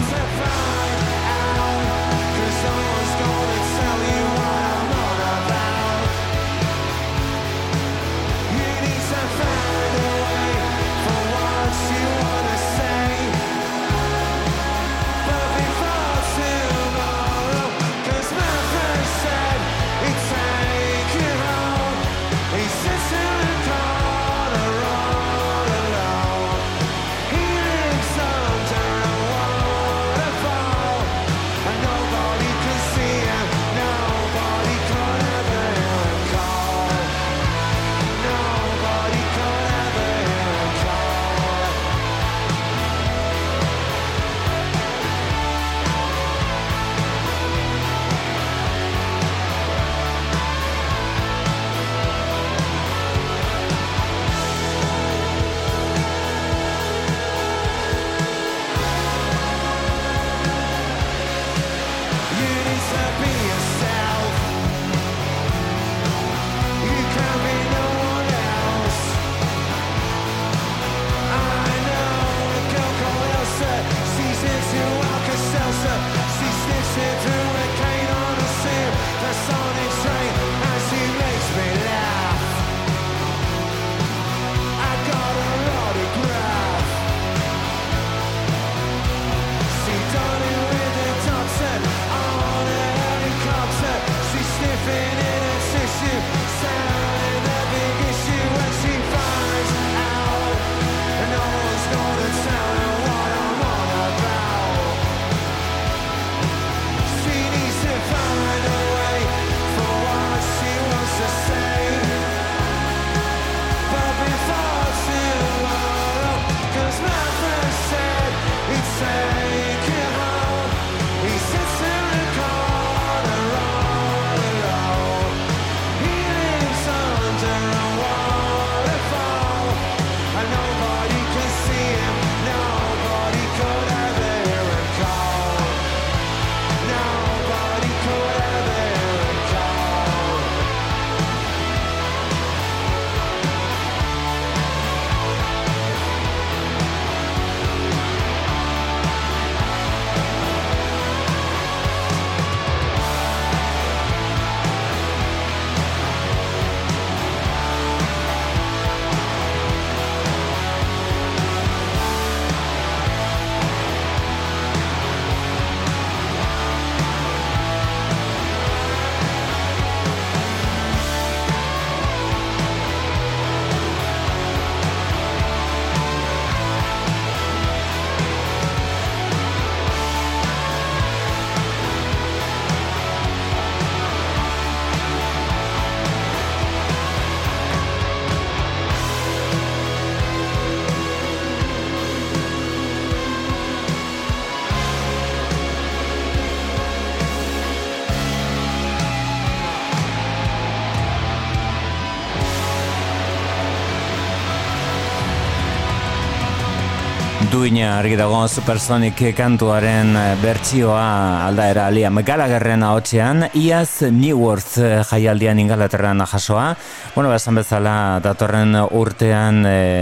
Duina argi dago Supersonic kantuaren bertsioa aldaera Liam Gallagherren ahotsean, iaz New Worth jaialdian Ingalaterran jasoa. Bueno, esan bezala datorren urtean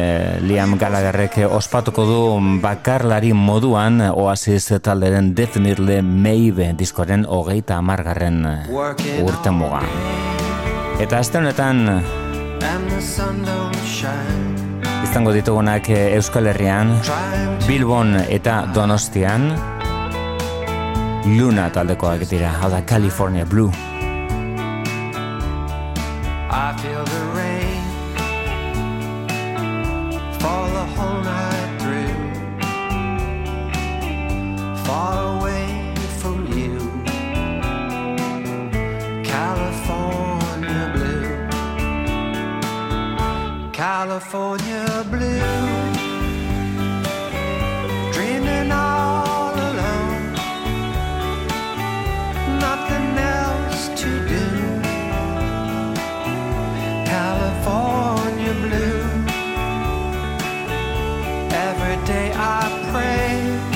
Liam Gallagherrek ospatuko du bakarlari moduan Oasis talderen Definitely Maybe diskoren 30. urtemuga. Eta aste honetan and the sun don't shine. Izango ditugunak Euskal Herrian, Bilbon eta Donostian, Luna taldekoak dira, hau da California Blue. I feel the rain fall the whole night through, far away from you, California blue, California blue, dreaming all alone, nothing else to do, California blue. Every day I pray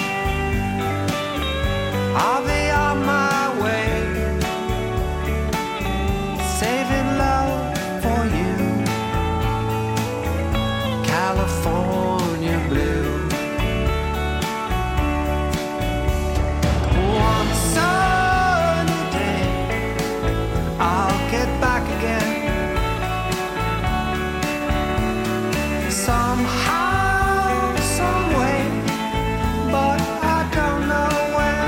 I'll be on my way, saving love for you, California blue. One sunny day I'll get back again. Somehow, some way, but I don't know when.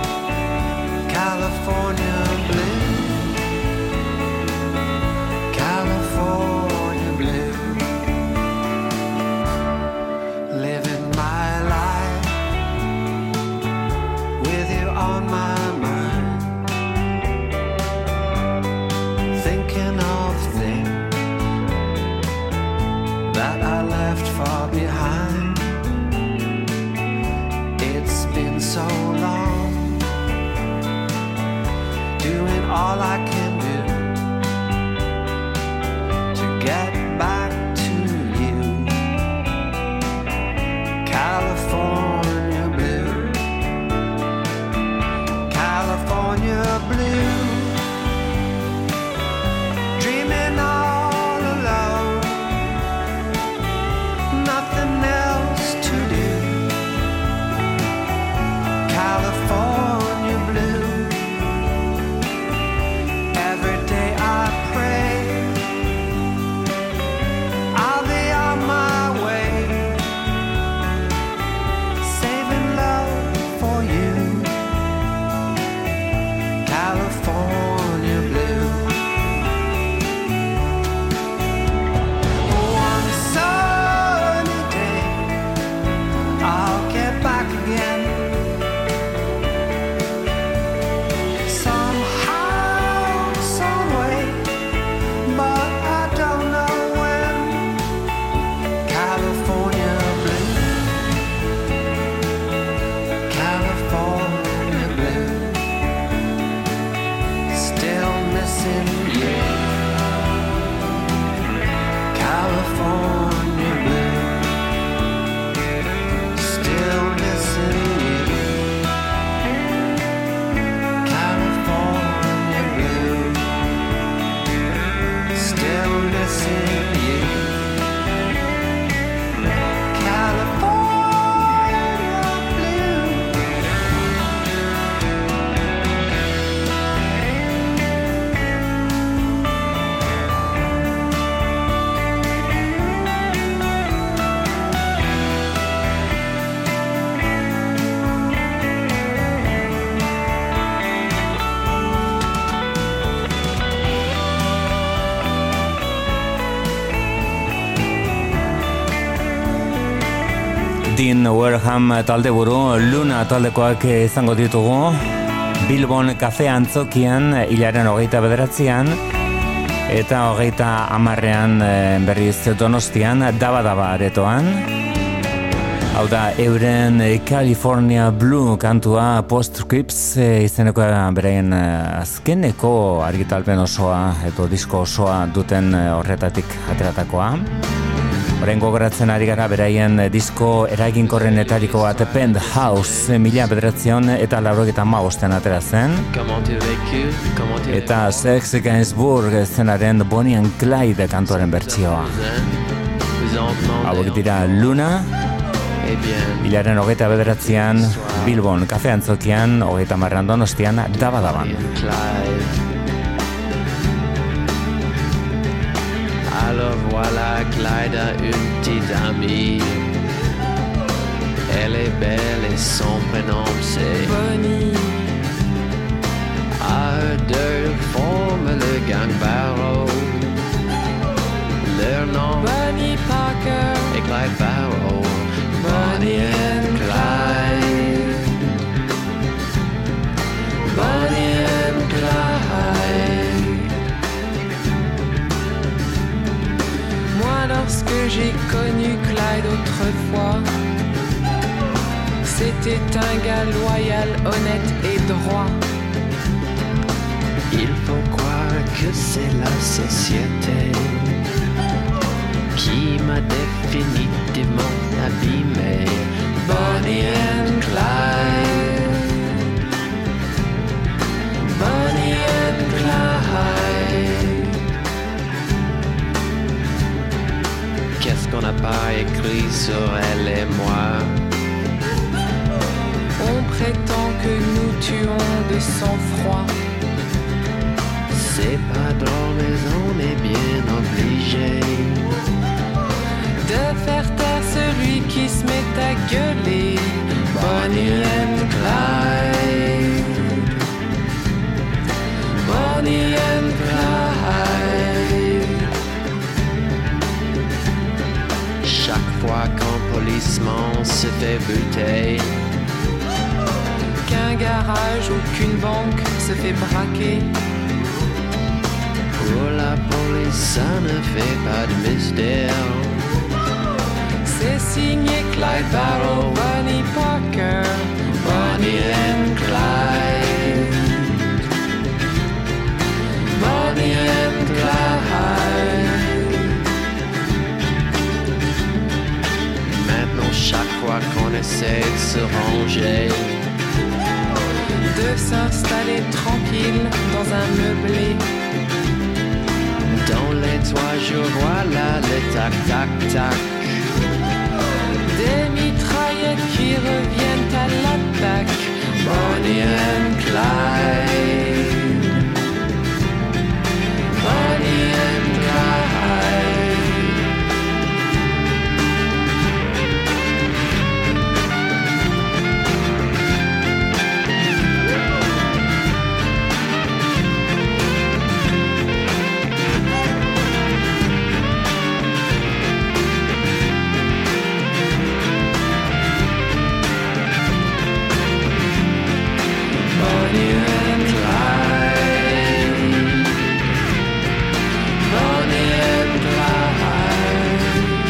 California blue, California blue, living my life with you on my mind, thinking of things that I left far behind. It's been so long, doing all I can do to get back to you, California blue, California blue, dreaming all alone, nothing else to do, California blue. Every day I pray I'll be on my way, saving love for you, California blue. One sunny day I'll get back again. Somehow, some way, but I don't know when. California blue, California blue, still missing you, California blue, still missing you, California blue, still missing you, California blue. Dean Wareham taldeburu, Luna taldekoak izango ditugu, Bilbon kafe antzokian hilaren 29an, eta 30ean berriz Donostian, Daba aretoan. Hau da, euren California Blue kantua Postscripts izeneko beraien azkeneko argitalpen osoa edo disko osoa duten horretatik ateratakoa. Orain gogoratzen ari gara beraien disko eraginkorrenetariko bat Penthouse 1985 atera zen. Eta Sex Gainsbourg zenaren Bonnie and Clyde kantuaren bertsioa. Hauek dira Luna, hilaren 29an Bilbon kafe antzokian, 30ean Donostian, Daba. Alors voilà Clyde a une petite amie. Elle est belle et son prénom c'est Bonnie. À eux deux forment le gang Barrow. Leur nom Bonnie Parker. et Clyde Barrow. Bonnie and Clyde. Bonnie and Clyde. Moi, lorsque j'ai connu Clyde autrefois, c'était un gars loyal, honnête et droit. Il faut croire que c'est la société qui m'a définitivement abîmé. Bonnie and Clyde. Bonnie and Clyde. Qu'est-ce qu'on n'a pas écrit sur elle et moi? On prétend que nous tuons de sang-froid. C'est pas drôle mais on est bien obligé De faire taire celui qui se met à gueuler. Bonnie and Clyde. Bonnie and Clyde. Chaque fois qu'un policeman se fait buter, Qu'un garage ou qu'une banque se fait braquer, pour la police ça ne fait pas de mystère. c'est signé Clyde Barrow, Bonnie Parker. Bonnie and Clyde. Bonnie and Clyde. Maintenant chaque fois qu'on essaie de se ranger, De s'installer tranquille dans un meublé, dans les toits je vois là les tac-tac-tac. des mitraillettes qui reviennent à l'attaque. Bonnie and Clyde. Bonnie and Clyde. Bonnie and Clyde. Bonnie and Clyde.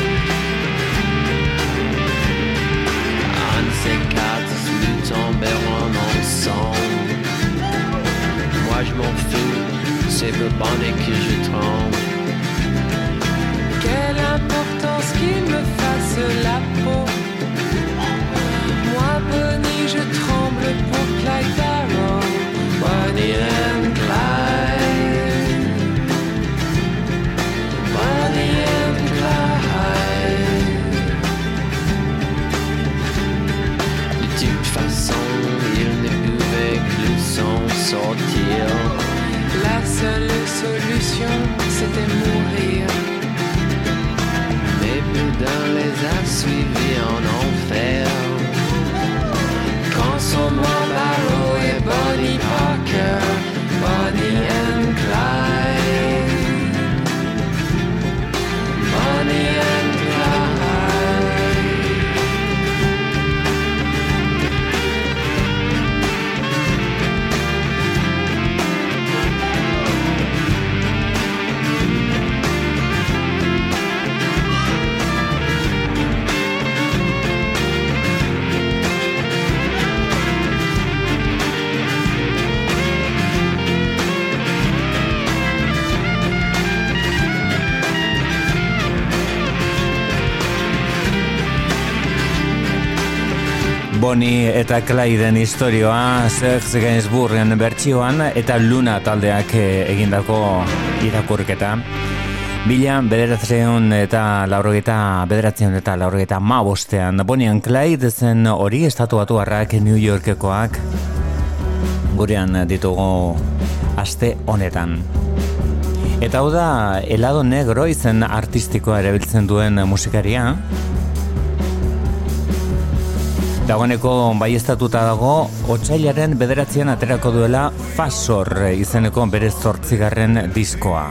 Un de ces quatre, nous tomberons ensemble. Moi je m'en fous, c'est pour Bonnie que je tremble. Quelle importance qu'il me fasse la peau. Moi, Bonnie, je tremble pour Clyde Barrow. Bonnie and Clyde. Bonnie and Clyde. De toute façon, il ne pouvait plus s'en sortir. La seule solution, c'était mourir. Mais Boudin les a suivis en enfer. Quand sont morts Barrow et Bonnie Parker. Bonnie and Clyde. Bonnie and Clyde. Bonnie eta Clyden istorioa Serge Gainsbourgen bertsioan eta Luna taldeak egindako irakurketa. Bederatziehun eta laurogeita hamabostean Bonnie and Clyde zen hori Estatu Batuarrak New Yorkekoak gurean ditugu aste honetan. Eta hau da Helado Negro izen artistikoa erabiltzen duen musikaria. Dagoeneko baieztatuta dago otsailaren 9 aterako duela Fasor izeneko bere 8. diskoa.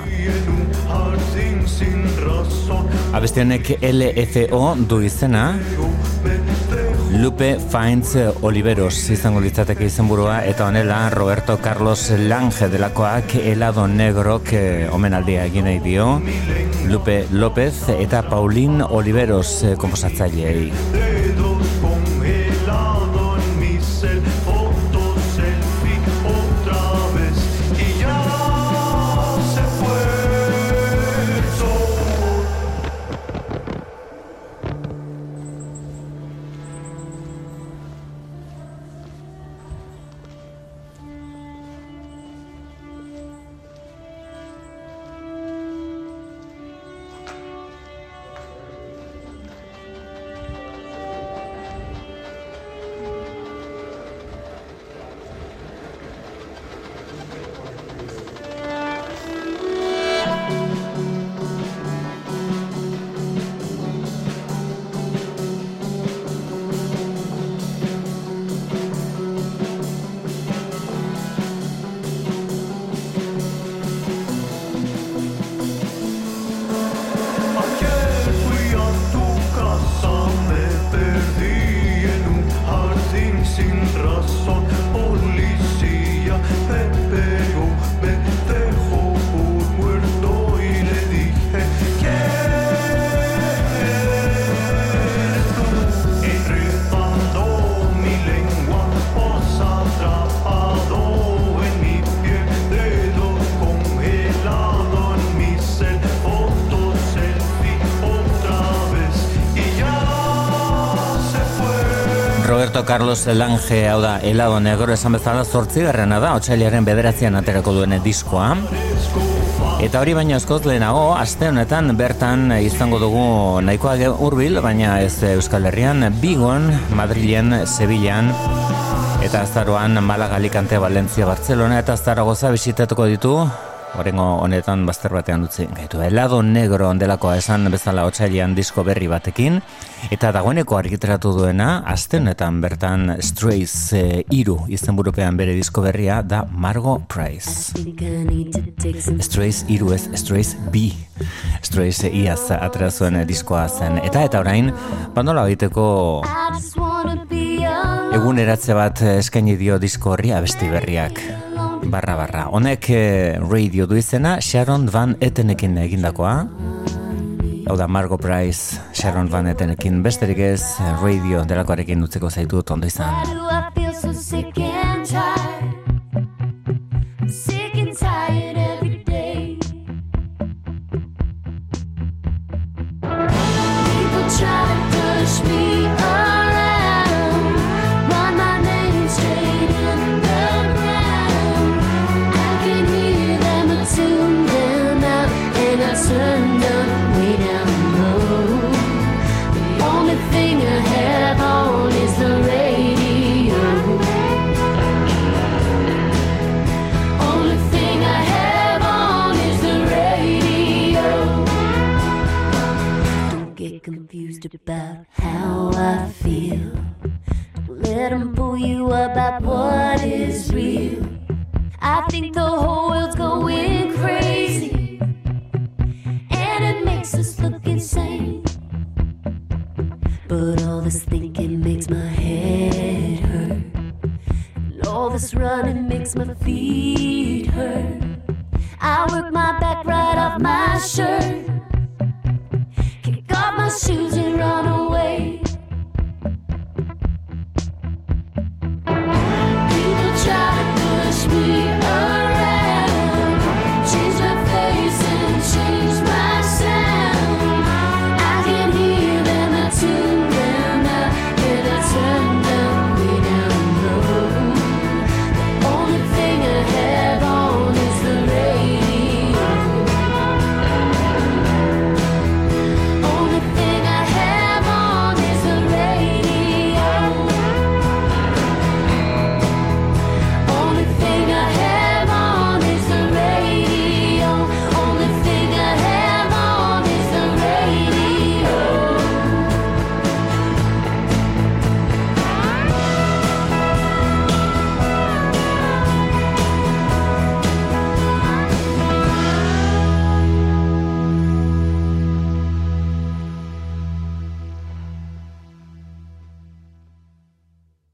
Abesti honek LFO du izena. Lupe Finds Oliveros izango litzateke izenburua, eta honela Roberto Carlos Lange delakoak Helado Negrok omenaldia egin nahi dio Lupe López eta Paulín Oliveros konposatzaileei. Roberto Carlos Lange, hau da Helado Negro, esan bezala 8. da, otsailaren 9 aterako duen diskoa. Eta hori baino askoz lehenago, aste honetan bertan izango dugu nahikoa hurbil, baina ez Euskal Herrian, Bigon, Madrilen, Sevillan, eta azaroan Malaga, Alicante, Valencia, Barcelona eta Zaragoza bisitatuko ditu. Horrengo honetan bazter batean utzi gaitu. Helado Negro ondelakoa esan bezala otsailean disko berri batekin, eta dagoeneko argitaratu duena aste honetan bertan Strays 3 izenburupean bere disko berria da Margo Price. Strays 3 ez, Strays B. Strays iaz atera zuen diskoa zen. Eta orain, bandola baiteko eguneratze bat eskaini dio disko horri abesti berriak. Barra. Honek radio du izena Sharon Van Ettenekin egindakoa. Hau da Margo Price, Sharon Van Ettenekin, besterik ez radio delakoarekin utzeko zaitu ondo izan. Turned up way down low. The only thing I have on is the radio. Only thing I have on is the radio. Don't get confused about how I feel. Don't let them pull you about what is real. I think the whole world's going crazy. Us look insane, but all this thinking makes my head hurt, and all this running makes my feet hurt. I work my back right off my shirt, kick off my shoes and run away.